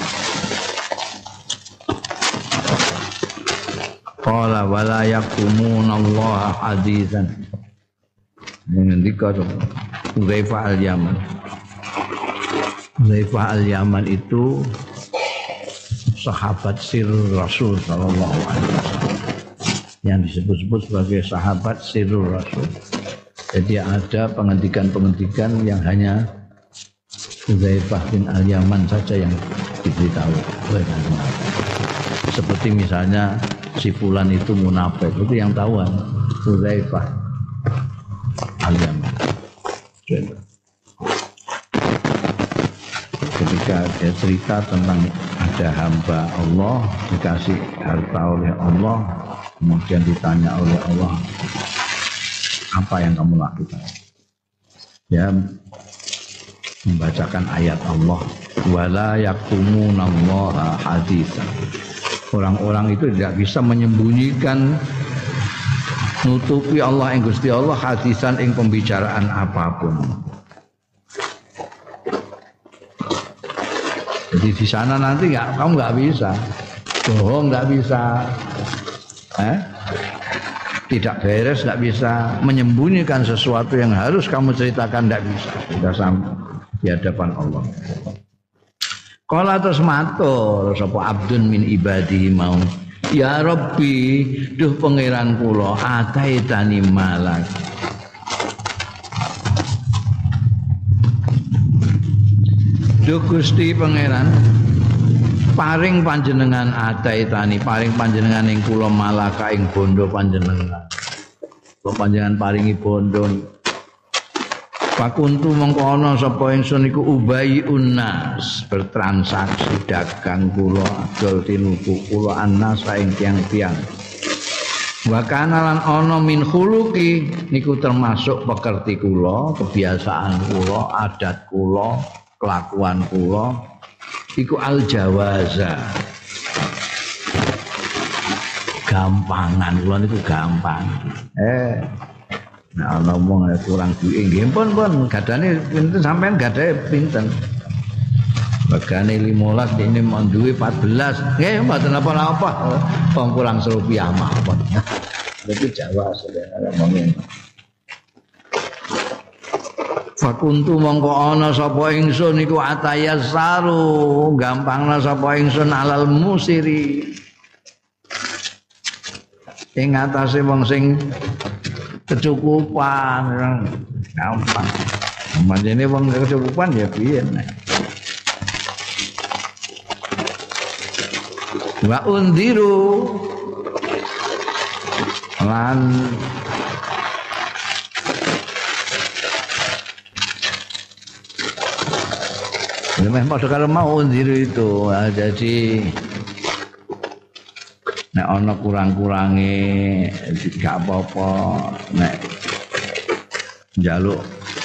qala wala yaqumunallaha hadisan ngendika Hudzaifah Al-Yaman. Hudzaifah Al-Yaman itu sahabat sirrul Rasul sallallahu alaihi wasallam yang disebut-sebut sebagai sahabat sirrul Rasul. Jadi ada penghentikan-penghentikan yang hanya Hudzaifah bin Al-Yaman saja yang diberitahu oleh Nabi. Seperti misalnya si fulan itu munafik, itu yang tahu Hudzaifah Al-Yaman. Ketika dia cerita tentang ada hamba Allah dikasih harta oleh Allah, kemudian ditanya oleh Allah, apa yang kamu lakukan? ya membacakan ayat Allah wala yakumunallaha haditsan. Orang-orang itu tidak bisa menyembunyikan nutupi Allah ing Gusti Allah hadisan ing pembicaraan apapun. Jadi di sana nanti kamu nggak bisa bohong, nggak bisa, tidak beres, nggak bisa menyembunyikan sesuatu yang harus kamu ceritakan, nggak bisa. Sudah sampai di hadapan Allah. Kala terus matur sapa abdun min ibadihi mau, ya Rabbi, duh pangeran kula ataitani malak. Duh Gusti pangeran, paring panjenengan ataitani, paring panjenengan ing kula malaka ing bondo panjenengan. Kula panjenengan paringi bondo. Pakuntu mongko ana sapa ingsun iku ubayi unnas, bertransaksi dagang kula adol tinuku kula annas ing tiang-tiang. Wa kana lan ana min khuluqi niku termasuk pekerti kula, kebiasaan kula, adat kula, kelakuan kula iku al jawaza. Gampangan kula niku gampang. Nah, ngomong kurang duit nggih pun gadane pinten sampean gadahe pinten. Regane 15 dene mau duwe 14. Nggih mboten apa-apa. Wong kurang rupiah mawon. Itu Jawa saudara ngomong. Fakuntu mongko ana sapa ingsun iku atayassaru, gampangna sapa ingsun alal musiri. Ing atase wong sing kecukupan, gampang. Manjane wong kecukupan ya piye nek. Wa undiru lan memang padha karo mau undiru itu. Jadi nek ana kurang-kurange gak apa-apa, nek njaluk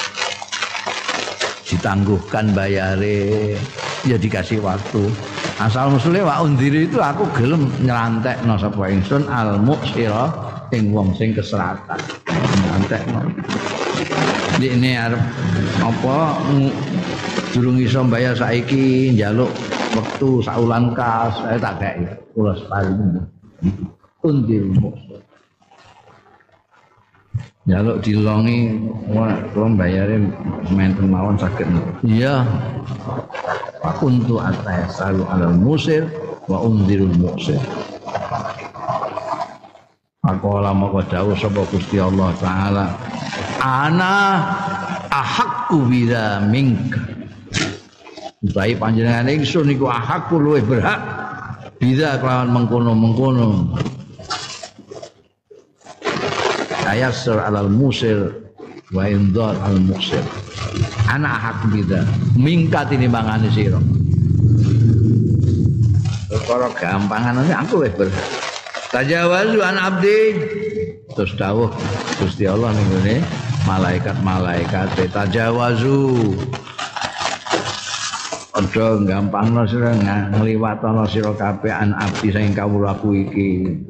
ditangguhkan bayare ya dikasih waktu. Asal musule wa undiri itu aku gelem nyelantekno sapa ingsun al muksira ing wong sing keseratan. Nyelantekno. Ini arep apa durung iso bayar saiki njaluk wektu saulan kas saya tak kei kula paling undir muksir. Njaluk dilongi kula bayare menten mawon saged. Iya. Kuntu atayasalu alal musir wa undirul muksir. Aqala maka dawuh sapa Gusti Allah taala, ana ahaqqu biza minka. Utahe panjenengan ingsun niku ahaqqu luwih berhak biza kelawan mengkono-mengkono. Tayassur alal musir wa indar al muksir. Anak hak biza mingkat ini mangane sira. Perkara gampangan aku wis ber. Tajawazu an abdi. Terus dawuh Gusti Allah ning ngene malaikat-malaikat tajawazu. Aja gampangno sira ngliwatono sira kabeh an abdi sing kawulaku iki.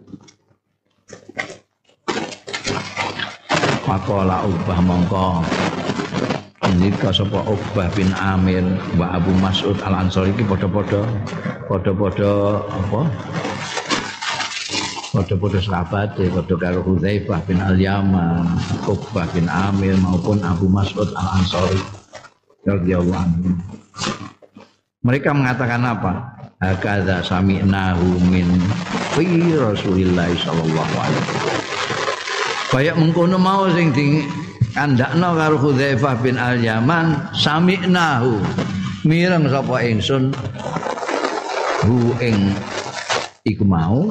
Maqala ubah mongko nika sapa Uqbah bin Amir wa Abu Mas'ud Al-Ansari iki padha-padha apa? Padha-padha sahabat padha karo Hudzaifah bin Al-Yaman, Uqbah bin Amir maupun Abu Mas'ud Al-Ansari radhiyallahu anhu. Mereka mengatakan apa? Hakadza sami'nahu min fi Rasulillah sallallahu alaihi wasallam. Kayak mengkono mau sing kandakna karo Hudzaifah bin Al-Yaman sami'nahu mireng sapa ingsun hu ing iku mau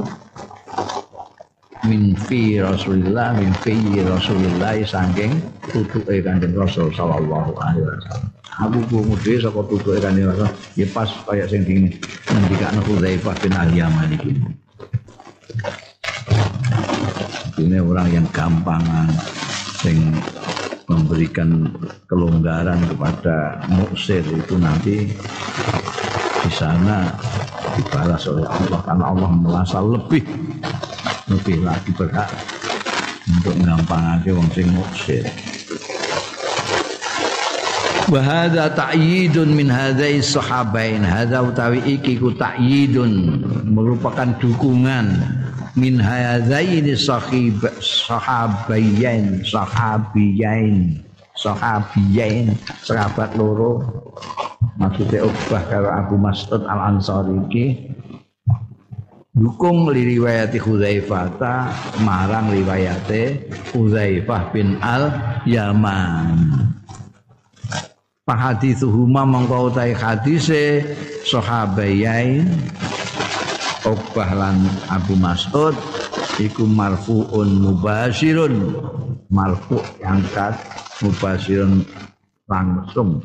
min fi Rasulillah saking tutuke Kanjeng Rasul sallallahu alaihi wasallam. Aku krungu dhewe saka tutuke Kanjeng Rasul ya pas kaya sing ngendikane Hudzaifah bin Al-Yaman iki. Ini orang yang gampangan sing memberikan kelonggaran kepada muksir itu nanti di sana dibalas oleh Allah karena Allah merasa lebih lagi berhak untuk ngampangake wong sing muksir. Wa hadza ta'yidun min hadzai sahabain. Hadza utawi iki ku ta'yidun merupakan dukungan min hadzaini sahabain sahabat loro maksudnya Uqbah karo Abu Mas'ud Al-Ansari iki dukung riwayat Hudzaifah marang riwayate Hudzaifah bin Al-Yaman. Fahadithuhuma mongko utahe hadise sahabayain Uqbah lan Abu Mas'ud iku marfu'un mubashirun, marfu' angkat, mubashirun langsung.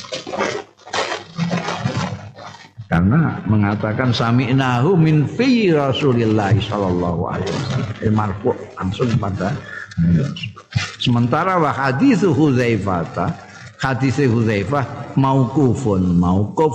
Karena mengatakan sami'nahu min fi Rasulillah sallallahu alaihi wasallam, marfu' langsung pada sementara wa haditsu Hudzaifah, hadis Hudzaifah mauqufun, mauquf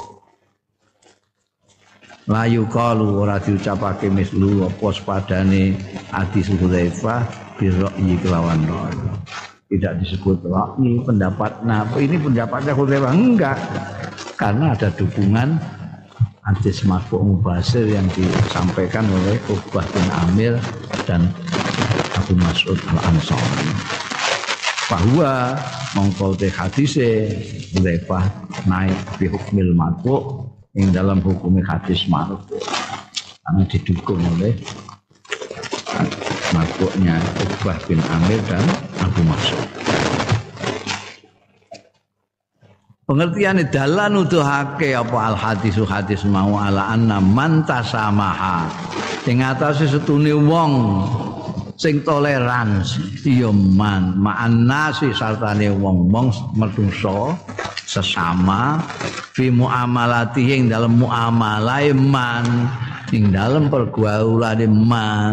la yuqalu ora diucapake mislu apa padane hadis Hudzaifah bi ra'yi kelawan ra'yi. Tidak disebut ra'yi pendapat. Nah, ini pendapatnya Hudzaifah enggak. Karena ada dukungan hadis marfu' mubashir yang disampaikan oleh Uqbah bin Amir dan Abu Mas'ud Al-Ansari. Bahwa mongko te hadise Hudzaifah naik bi hukmil marfu' yang dalam hukum hadis marfu' karena didukung oleh marfu'nya Uqbah bin Amir dan Abu Mas'ud. Pengertian dalan nuduhake apa al hadisu hadis mau ala anna man tasamaha ing atase setune wong sing toleransi ya man ma'annasi sartane wong-wong menungso sesama fi muamalati ing dalam muamalah man ing dalam pergaulane man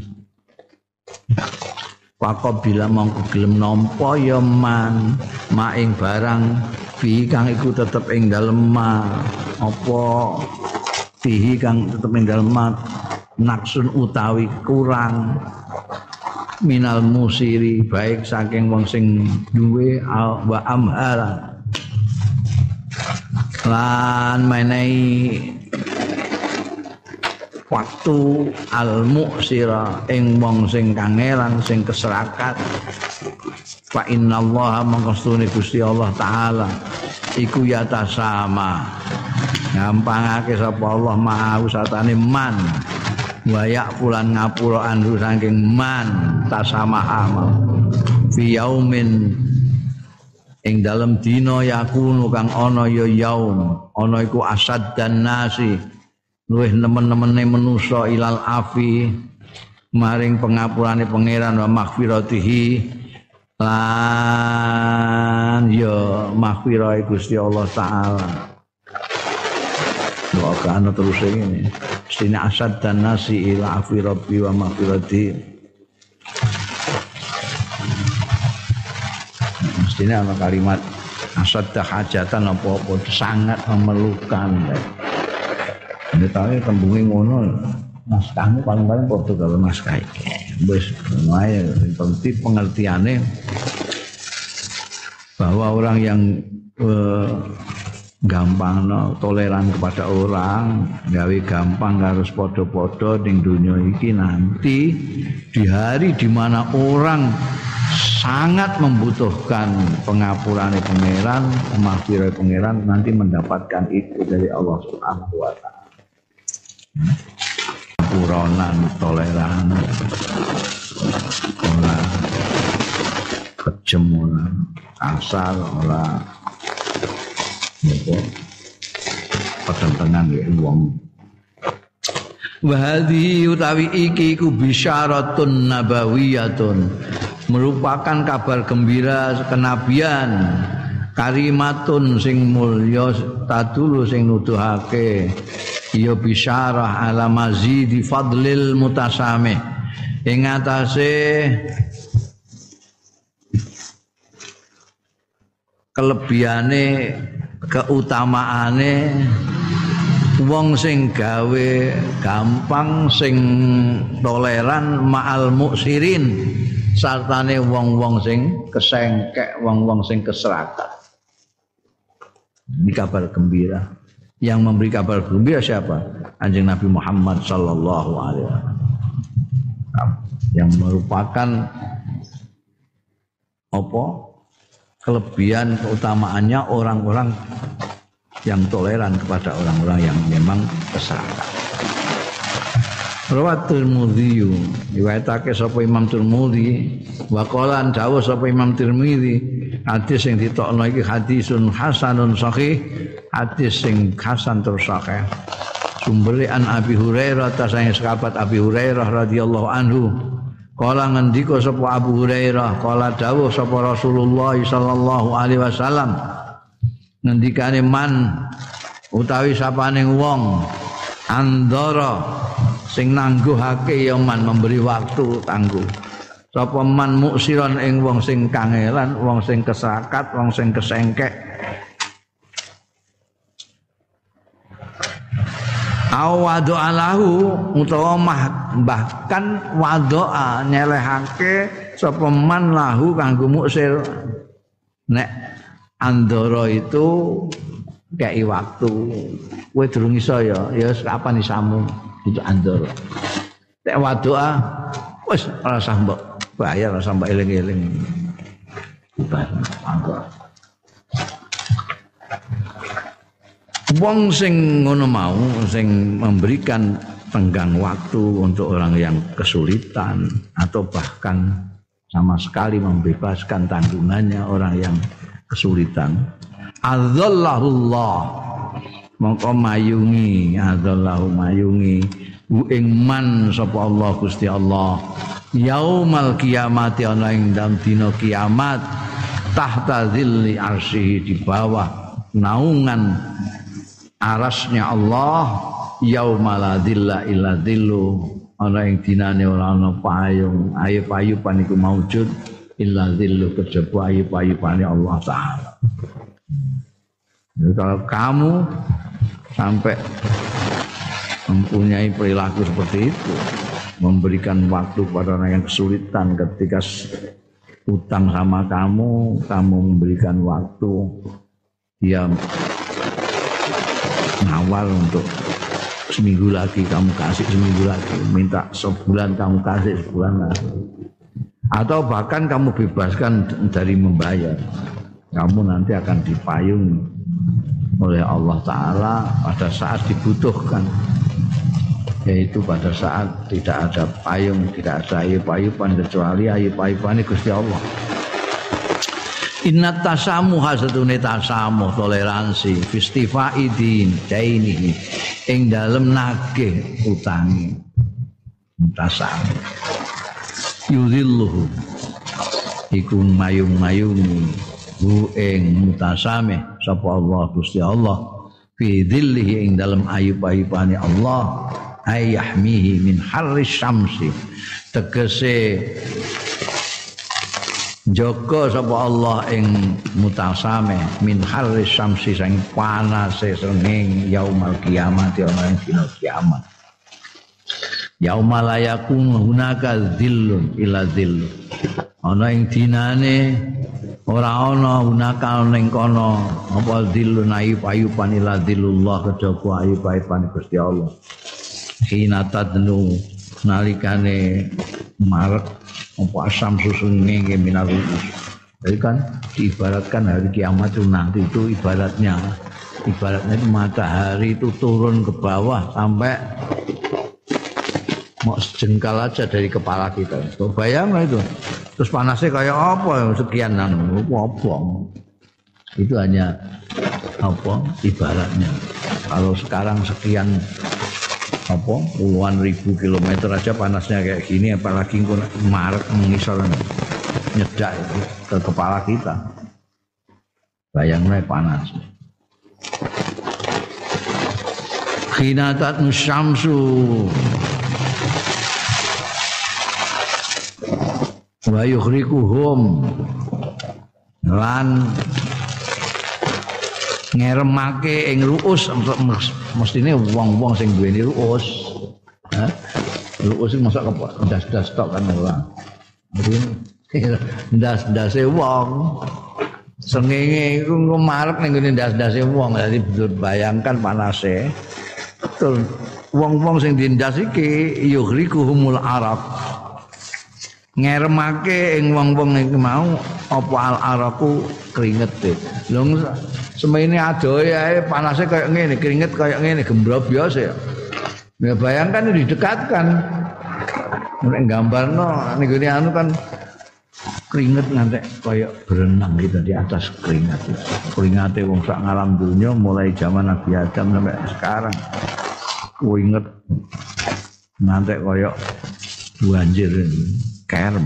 Pakop bila mongko gelem nampa ya man maing barang fi kang iku tetep ing dalem ma apa fihi kang tetep ing dalem ma naksun utawi kurang minal musiri baik saking wong sing duwe wa amhala lan menehi waktu al muksira ing wong sing kangelan sing keserakat fa innallaha mangkastune Gusti Allah taala iku yata sama gampangake sapa Allah mau satane man wayak pulan ngapura andu saking man tasamaha fi yaumin ing dalem dina yakunu kang ana ya yaum ana iku asad dan nasi luwih nemen-nemene manusa ilal afi maring pengapurane pangeran wa maghfiratihi lan ya maghfirah Gusti Allah taala. Doakan terus ini. Sina asad dan nasi ila afi rabbi wa maghfiratihi. Mestinya ana kalimat asad hajatan apa-apa sangat memerlukan. Ini tahu tembungi ngono naskahnya paling-paling padha karo naskah iki. Wis wae penting pengertiane bahwa orang yang gampang toleran kepada orang, gawe gampang harus padha-padha ning dunia iki nanti di hari di mana orang sangat membutuhkan pengapurane pangeran, maghfirah pangeran nanti mendapatkan itu dari Allah Subhanahu wa taala. Puronan toleran ora kejem ora asal ora apa petentengan ya wong wa hadhi utawi iki ku bisyaratun nabawiyatun merupakan kabar gembira kenabian karimatun sing mulya tadulu sing nuduhake ya bisyarah ala mazidi fadlil mutasamih ing atase kelebihane keutamaane wong sing gawe gampang sing toleran ma'al muksirin sartane wong-wong sing kesengkek wong-wong sing keserakat. Ini kabar gembira. Yang memberi kabar gembira siapa? Kanjeng Nabi Muhammad sallallahu alaihi wasallam. Yang merupakan apa? Kelebihan keutamaannya orang-orang yang toleran kepada orang-orang yang memang keserakat. Rawat Tirmidzi, riwayatake sapa Imam Tirmidzi, wa qalan dawuh sapa Imam Tirmidzi, hadis sing ditokno iki hadisun hasanun sahih, hadis sing hasan tur sahih. Sumbere an Abi Hurairah ta sang sahabat Abi Hurairah radhiyallahu anhu. Kala ngendika sapa Abu Hurairah, kala dawuh sapa Rasulullah sallallahu alaihi wasallam. Ngendikane man utawi sapane wong andara sing nangguhake ya man memberi waktu tangguh. Sapa man muksiron ing wong sing kangelan, wong sing keserakat, wong sing kesengkek. Awadha alahu utawa bahkan wadoa nyelehake sapa man lahu kanggo muksir. Nek andara itu kei waktu kowe durung iso ya kapan isamu itu andara. Nek wadoa wis ora usah mbok bayar, ora usah mbok eling-eling. Wong sing ngono mau sing memberikan tenggang waktu untuk orang yang kesulitan atau bahkan sama sekali membebaskan tanggungannya orang yang kesulitan. Adzallahullah mongko mayungi, adzallahu mayungi ing man sapa Allah Gusti Allah yaumal kiamati ana ing dalem dina kiamat tahta zilli arsy di bawah naungan arasnya Allah yaumala dzilla illa dzillu ana ing dinane ora ana payung ayu-ayupan iku maujud illa dzillu kejaba ayu-ayupane Allah taala. Jadi kalau kamu sampai mempunyai perilaku seperti itu, memberikan waktu kepada orang yang kesulitan ketika utang sama kamu memberikan waktu, dia ngawal untuk seminggu lagi kamu kasih seminggu lagi, minta sebulan kamu kasih sebulan lagi, atau bahkan kamu bebaskan dari membayar, kamu nanti akan dipayungi oleh Allah Ta'ala pada saat dibutuhkan, yaitu pada saat tidak ada payung, tidak ada ayub-ayuban kecuali ayub-ayuban Gusti Allah. Inna tasamuha satune tasamuh toleransi fistifaidin daini ing dalem nagih utangi tasamuh yudhilluhu iku mayung-mayungi hu ing mutasame sapa Allah Gusti Allah fi dhillihi ing dalem ayub-ayubane Allah ayahmihi min harris syamsi tegese jaga sapa Allah ing mutasame min harris syamsi sing panase srengeng yaumal kiamat ana ing dina kiamat yaumal yakun hunaka dhillun ila dhill ana ing dinane ora ana hunaka ning kono apa dhillun ayub-ayuban ila dhillullah kejaba ayub-ayuban Gusti Allah hina tadnu nalikane marek apa asam susunge minarus. Jadi kan diibaratkan hari kiamat itu nanti itu ibaratnya itu matahari itu turun ke bawah sampai mau sejengkal aja dari kepala kita. So, bayanglah itu. Terus panasnya kayak apa sekian apa. Itu hanya apa ibaratnya. Kalau sekarang sekian apa puluhan ribu kilometer aja panasnya kayak gini, apalagi Maret mengisor nyedak itu ke kepala kita. Bayangnya panas. Khinatat nusyamsu wa yukhrikuhum lan ngeremake ing ruus mestine wong-wong sing duweni ruus. Ruus iki mosok ndas-ndas tok kan ora. Ndas-ndase wong. Sengenge iku marep ning ngene ndas-ndase wong. Dadi bayangkan panase. Betul. Wong-wong sing dindas iki yuhrikuhumul arab. Ngeremake ing wong-wong iki mau apa al-araku kringete. Lho semene adohe ae panase kaya ngene, keringet kaya ngene, gembro biasa ya. Ya bayangkan didekatkan. Nek gambarno ning gone anu kan keringet ngantek kaya berenang gitu di atas keringat. Keringate wong sak ngalam dunya mulai zaman Nabi Adam sampai sekarang. Keringet ngantek kaya banjir kerem.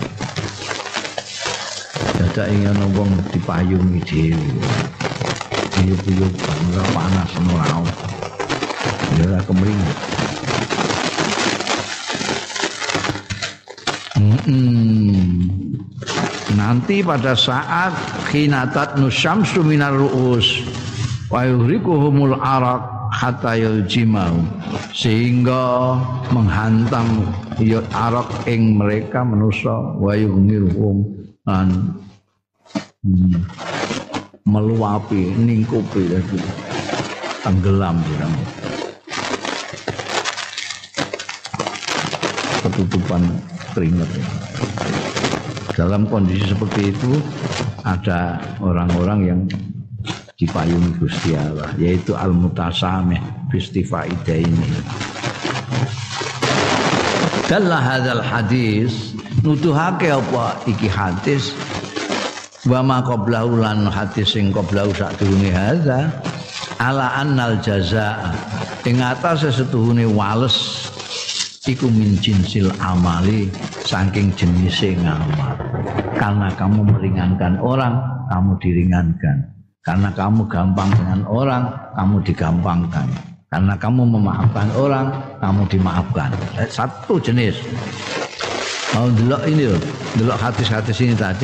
Dadak ing ana wong dipayungi dhewe. Buyuk-buyuk panas ora. Ya kemring. Nanti pada saat khinatat nusyamsu minar ru'us wa yuhrikuhumul araq hatta yuljimau sehingga menghantam ya araq ing mereka manusa wa yughmiruhum an meluapi ningkupi lagi tenggelam dirang ketutupan keringat. Dalam kondisi seperti itu ada orang-orang yang dipayungi Gusti Allah, yaitu al-mutasamih bistifaidah ini. Dalla hadzal hadis nuduhake apa iki hadis wa ma qablahu lan hadis sing qablahu sadurunge hadza ala annal jazaa ing atase setuhune wales iku min jinsil amali saking jenise ngamal. Karena kamu meringankan orang, kamu diringankan. Karena kamu gampang dengan orang, kamu digampangkan. Karena kamu memaafkan orang, kamu dimaafkan. Satu jenis. Mau delok ini loh, delok hadis-hadis ini tadi.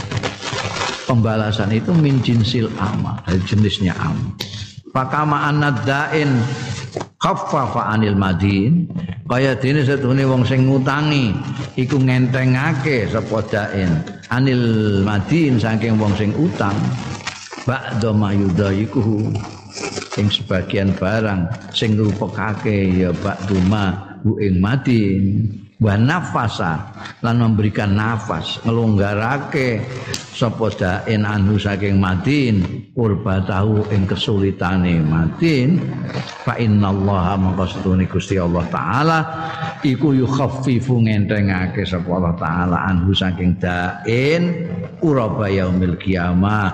Pembalasan itu min jinsil amal, dari jenisnya amal. Fakama annadain khaffafa anil madin, kaya dene setune wong sing ngutangi iku ngentengake sapa dain anil madin saking wong sing utang ba'da mayudaiku ing sebagian barang sing ngrupekake ya ba'duma hu ing madin wa nafasa lan memberikan nafas ngelonggarake sapa dain anhu saking madin urbatahu ing kesulitane madin fa innallaha maka setune Gusti Allah taala iku yukhaffifu ngentengake sapa Allah taala anhu saking dain uraba yaumil qiyamah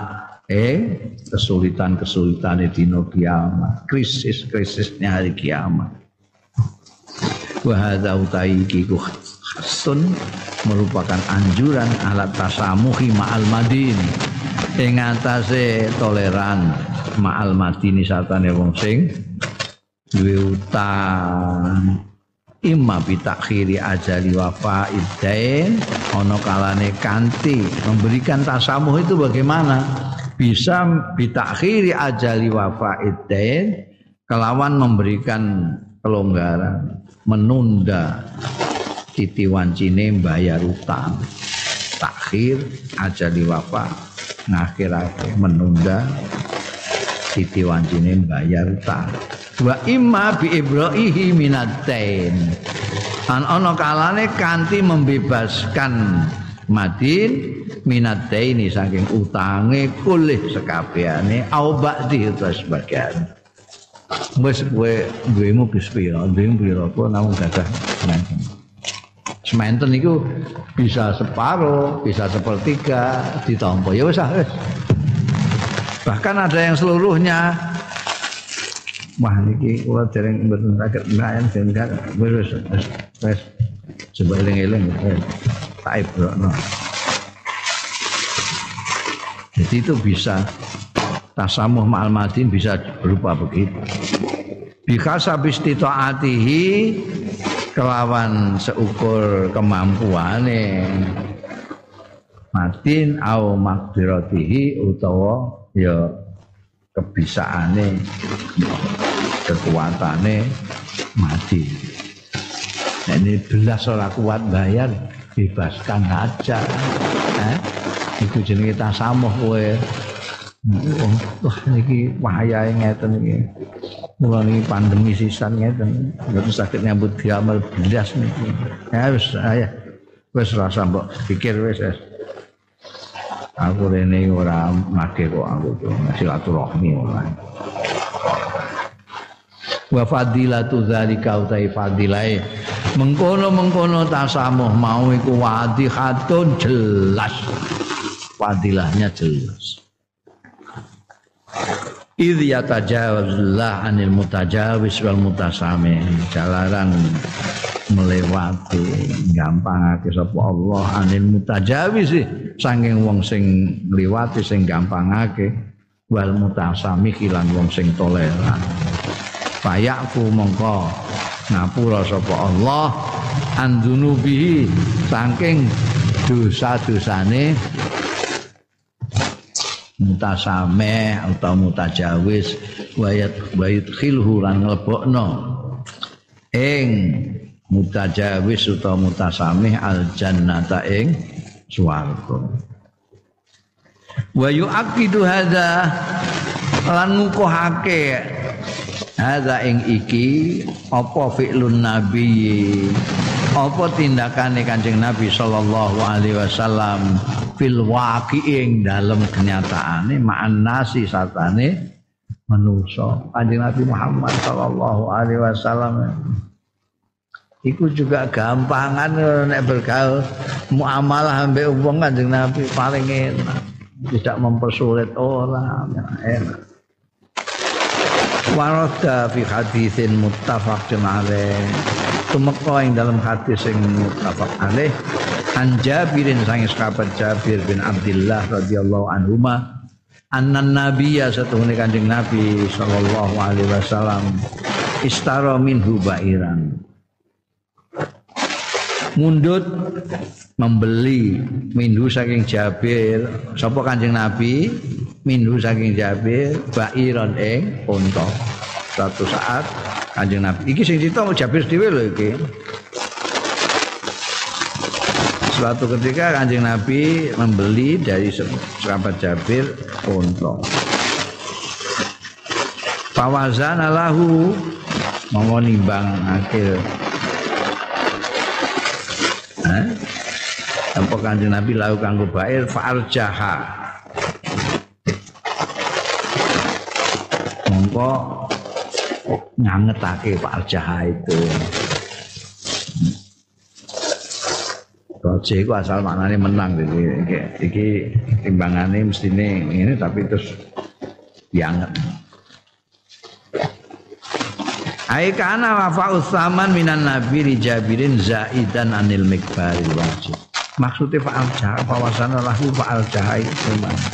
kesulitan-kesulitane dina kiamat krisis-krisisnya hari kiamat. Wa hadza utaiki ku khasun merupakan anjuran alat tasamuhi ma'al madin ing atase toleran ma'al madini satane wong sing duwe utang imma bi takhiri ajali wafaid dain ana kalane kanthi memberikan tasamuh itu bagaimana bisa bi takhiri ajali wafaid dain kelawan memberikan kelonggaran menunda titi wancine bayar utang takhir ajali wafa ngakhirake menunda titi wancine bayar utang wa imma bi ibra'ihi minatain an ana kalane kanthi membebaskan madin minataini saking utange kulih sekabehane au ba'di terus sebagian wis kowe duwemu wis pira duwemu pira kok namung gadah sementen. Sementen niku bisa separuh, bisa sepertiga ditampa ya wis. Bahkan ada yang seluruhnya. Wah niki kula dereng mboten saged mbayan sehingga wis coba eling-eling tak ibrokno. Jadi itu bisa tasamuh ma'al madin bisa berupa begitu. Bikhasabi istitaatihi kelawan seukur kemampuane madin au maqdiratihi utawa ya kebisaane kekuatane mati. Nah, ini belas ora kuat bayar, bebaskan aja. Iku jenenge tasamuh kowe. Wah niki wayahe ngeten iki. Mula niki pandemi sisan ngeten. Terus sakit nyambut diamal belas niki. Ya wis rasa mbok pikir wis. Aku rene ora make kok aku silaturahmi ora. Wa fadilatu zalika utai fadilai mengkono tasamuh mau iku wadihatun jelas fadilahnya jelas idh yatajawazullah anil mutajawis wal mutasami jalaran melewati gampangake sapa Allah anil mutajawis saking wong sing ngliwati sing gampangake wal mutasami lan wong sing toleran fayaku mongko ngapura sapa Allah andunubihi saking dosa-dosane mutasame atau mutajawis wayat khilhu lan nglebokno ing mutajawis utawa mutasame al jannata ing swarga wa yu'aqidu hadza lan ngukuhake hadza ing iki apa fi'lun nabi apa tindakane Kanjeng Nabi sallallahu alaihi wasallam fil waqi'ing dalem kenyataane ma'an nasi satane manusa Kanjeng Nabi Muhammad sallallahu alaihi wasallam iku juga gampangan nek bergaul muamalah ambek wong Kanjeng Nabi paling enak tidak mempersulit orang enak warada fi haditsin muttafaqun alaih tumeka ing dalam hadis sing muttafaq alaih an Jabirin sang sahabat Jabir bin Abdullah radhiyallahu anhuma annan nabiyya satuhune Kanjeng Nabi sallallahu alaihi wasallam istara minhu bairan mundut membeli minhu saking Jabir sapa Kanjeng Nabi minhu saking Jabir bairon ing unta suatu saat Kanjeng Nabi iki sing cerita Jabir dhewe lho iki suatu ketika Kanjeng Nabi membeli dari sahabat Jabir unta fawazana lahu monggo nimbang akhir apa Kanjeng Nabi lahu kanggo bair fa'arjaha mongko ngangetake fa'arjaha itu Roje itu asal maknanya menang iki timbangannya mestine ini tapi terus dianget ai kana wafa'u tsaman minan nabi li Jabirin zaidan anil mikbaril wajib maksudnya fa'al jaha pawasana lahu fa'al jaha itu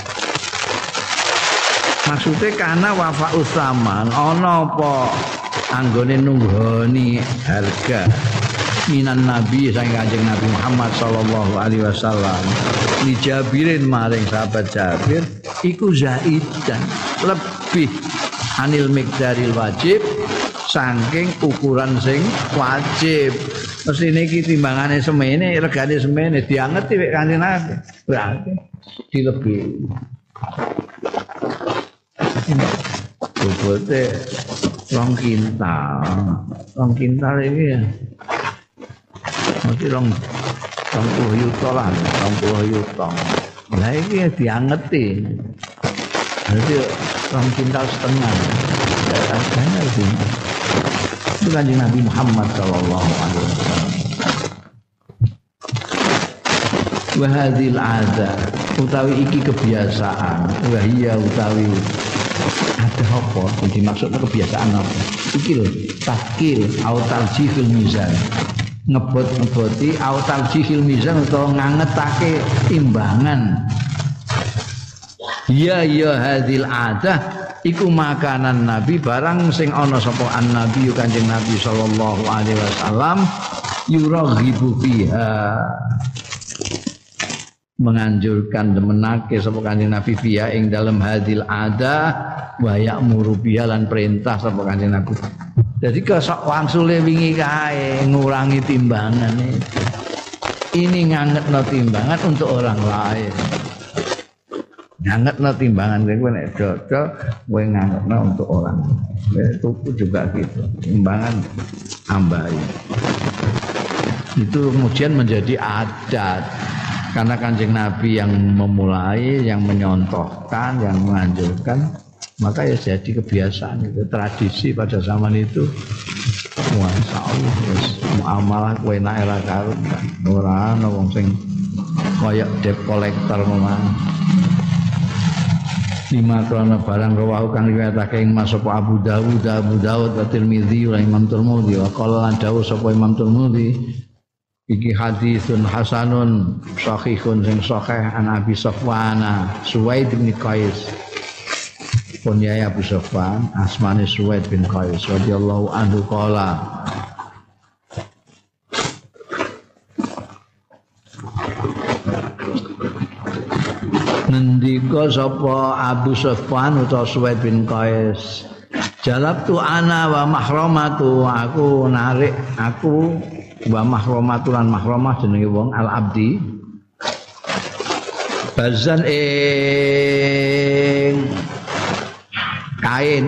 maksudnya karena wafa'u tsaman ana apa anggone nunggoni harga minan nabi sang Kanjeng Nabi Muhammad sallallahu alaihi wasallam li Jabirin maring sahabat Jabir iku zaidan lebih anil mikdaril wajib saking ukuran sing wajib. Mesti niki timbangane semene, regane semene diangeti wek Kanjeng Nabi. Berarti dilebihi. Bobote 2 kintal. 2 kintal iki ya. Mesti 20 yuta lah, 20 yuta. Lah iki diangeti. Berarti 2 kintal setengah. Harganya itu. Itu Kanjeng Nabi Muhammad sallallahu alaihi wasallam. Wa hadzal ada utawi iki kebiasaan, wa hiya utawi ada apa? Jadi maksudnya kebiasaan apa? Iki lho, takil au tarjihil mizan. Ngebot-ngeboti au tarjihil mizan utawa ngangetake timbangan. Ya hadzal ada iku makanan Nabi barang sing ana sapa an-nabi Kanjeng Nabi sallallahu alaihi wasallam yuraghibu fiha menganjurkan demenake sapa Kanjeng Nabi biya ing dalam hadil ada wa ya'muru biya lan perintah sapa Kanjeng Nabi. Jadi kesok wangsule wingi kae ngurangi timbangan itu. Ini ngangetno timbangan untuk orang lain. Ngangetno timbangan kowe nek dodol kowe ngangetno untuk orang. Itu juga gitu. Timbangan tambahi. Itu kemudian menjadi adat. Karena Kanjeng Nabi yang memulai, yang menyontohkan, yang menganjurkan, maka ya jadi kebiasaan itu, tradisi pada zaman itu. Masya Allah, muamalah kowe enak era karo ora ana wong sing kaya debt collector memang. Lima krana barang rawahu kang riwayatake ing Mas sapa Abu Dawud wa Tirmidzi wa Imam Tirmidzi wa qala lan dawuh sapa Imam Tirmidzi iki hadisun hasanun sahihun sing sahih an Abi Sufyan Suwaid bin Qais punya Abu Sufyan asmane Suwaid bin Qais radhiyallahu anhu qala ngendika sapa Abu Sufyan utawa Suwaid bin Qais jalabtu ana wa mahramatu aku narik aku wa mahromatulan mahromah jenenge wong al abdi bazan ing kain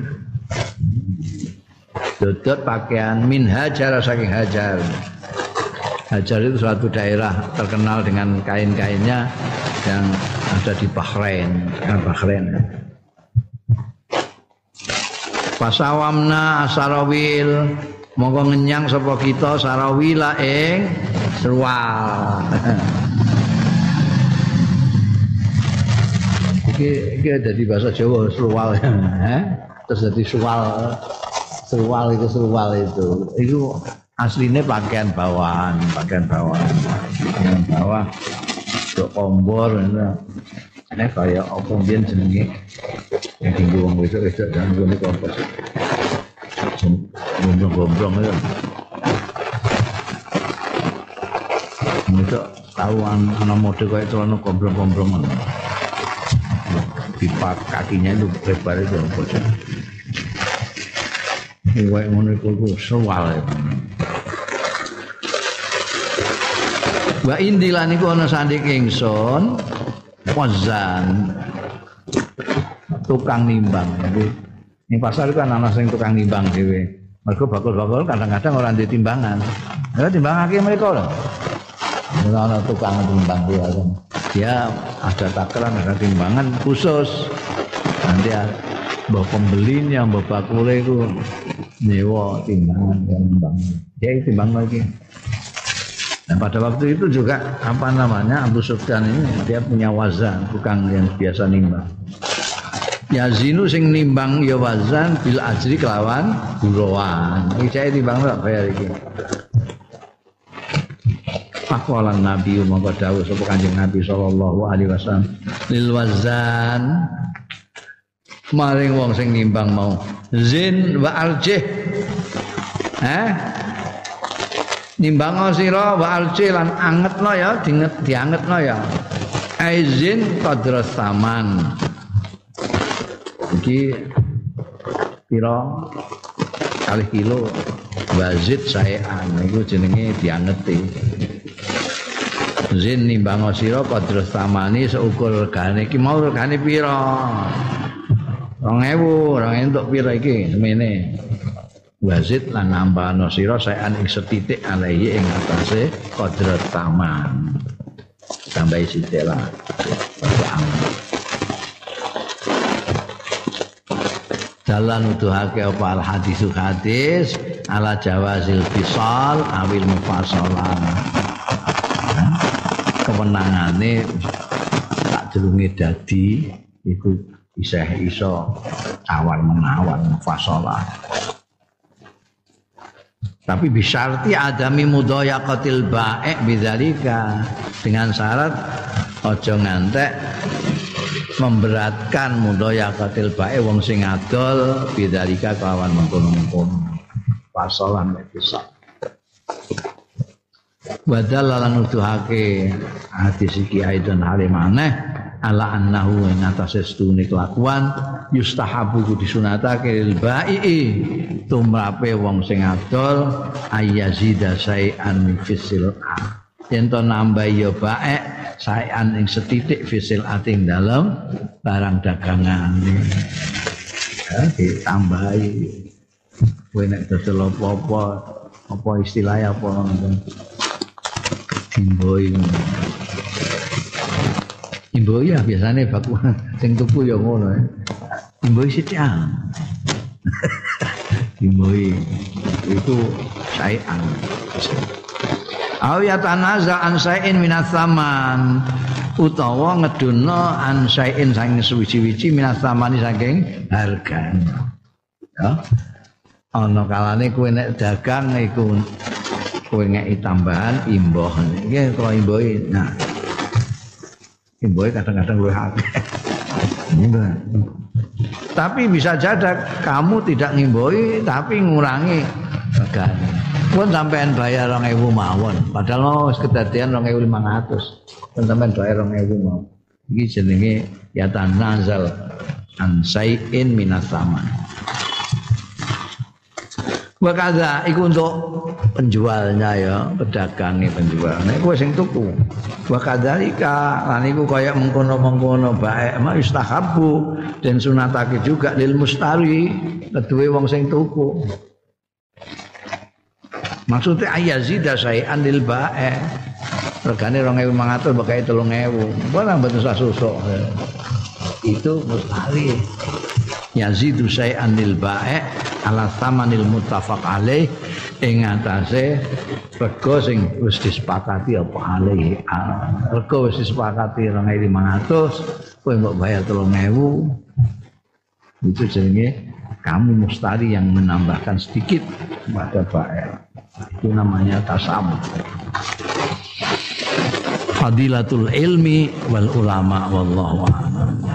dodot pakaian min hajar saking hajar. Hajar itu suatu daerah terkenal dengan kain-kainnya yang ada di Bahrain, Pasawamna asarawil monggo ngenyang sapa kita sarawila ing serwal. Iki dadi bahasa Jawa serwal ya. Terus dadi serwal itu. Itu aslinya pakaian bawahan. Yang bawah untuk kombor ini kayak apa mbiyen jenenge yang tinggi wong wedok-wedok dan ngene kompos. Gombrong-gombrong itu. Itu tahuan ana mode kayak celana gombrong-gombrongan. Pipa kakinya itu lebar itu apa sih? Kayak ngono iku sewal. Wa indilan iku ana sanding ingsun wazan tukang nimbang. Jadi ini pasar itu kan ana sing tukang nimbang dhewe. Mergo bakul-bakul kadang-kadang ora ndek timbangan. Ya timbangake mereka lho. Ora ana tukang timbang kuwi. Dia ada takaran, ada timbangan khusus. Nanti mbok pembelinya, mbok bakule iku nyewa timbangan yang timbang. Dia timbang lagi. Dan pada waktu itu juga Abu Sufyan ini dia punya wazan, tukang yang biasa nimbang. Yazinu sing nimbang ya wazan bil ajri kelawan buroan. Iki saya timbang tak bayar iki. Faqalan Nabi monggo dawuh sapa Kanjeng Nabi sallallahu alaihi wasallam lil wazan maring wong sing nimbang mau zin wa arjih. Nimbang sira wa arjih lan angetno ya diangetno ya. Aizin qadra saman. Iki pira kali kilo wazid saean niku jenenge diangeti. Zin nimbang sira qadra samani seukur regane iki mau regane pira? 2000 entuk pira iki semene. Wazid lan nambahno sira saean ing setitik alaihi ing atase qadra taman. Tambahi sithik lah. Dalan nuduhake apa al hadis ala jawazil fisal awil mufassalah. Kewenangane tak delunge dadi iku iso awal menawar mufassalah. Tapi bisyarti adami mudhayaqatil ba'i bidzalika dengan syarat aja ngantek memberatkan mudhayaqatil ba'i wong sing adol bidzalika kelawan mengkono-mengkono. Fasalan bisa. Wadalla lan nuduhake hadis iki aidon halimane ala annahu ing atase stune kelakuan yustahabu disunatake lil ba'i tumrape wong sing adol ayazida sayan fisil yen to nambah ya bae sayan ing setitik fisil ating dalem barang dagangane ya ditambahi kowe nek dodol apa istilahnya apa ngono Imboi ya biasanya bakuan sing tuku ya ngono ya. Imboi sithik. Imboi itu sayan. Aw ya tanaza an sayin minas saman utawa ngeduna an sayin saking suwi-wiji minas samani saking hargane. Ya. Ana kalane kowe nek dagang iku kowe ngeki tambahan imboh. Iki kalau imboi nah imboi kadang-kadang luwih akeh. Tapi bisa jadi kamu tidak ngimboi tapi ngurangi regane. Pun sampean bayar 2.000 mawon, padahal wis kedadian 2.500. Pun sampean bayar 2.000 mawon. Iki jenenge ya tanazal an sayin minas saman. Wakaza iku untuk penjualnya ya, pedagangnya penjual. Nek kowe sing tuku. Wakadzalika lan iku kaya mengkono-mengkono bae mak istahabu den sunatake juga lil mustari keduwe wong sing tuku. Maksudnya ayazida sayan lil bae. Regane 2.500 bakai 3.000. Ora mboten susuk. Itu mustari. Yazidu sayan lil bae ala tsamanil muttafaq alaih ing atase rega sing wis disepakati apa alaih. Rega wis disepakati 2.500, kowe mbok bayar 3.000. Itu jenenge kamu mustari yang menambahkan sedikit pada bae. Itu namanya tasam. Fadilatul ilmi wal ulama wallahu a'lam.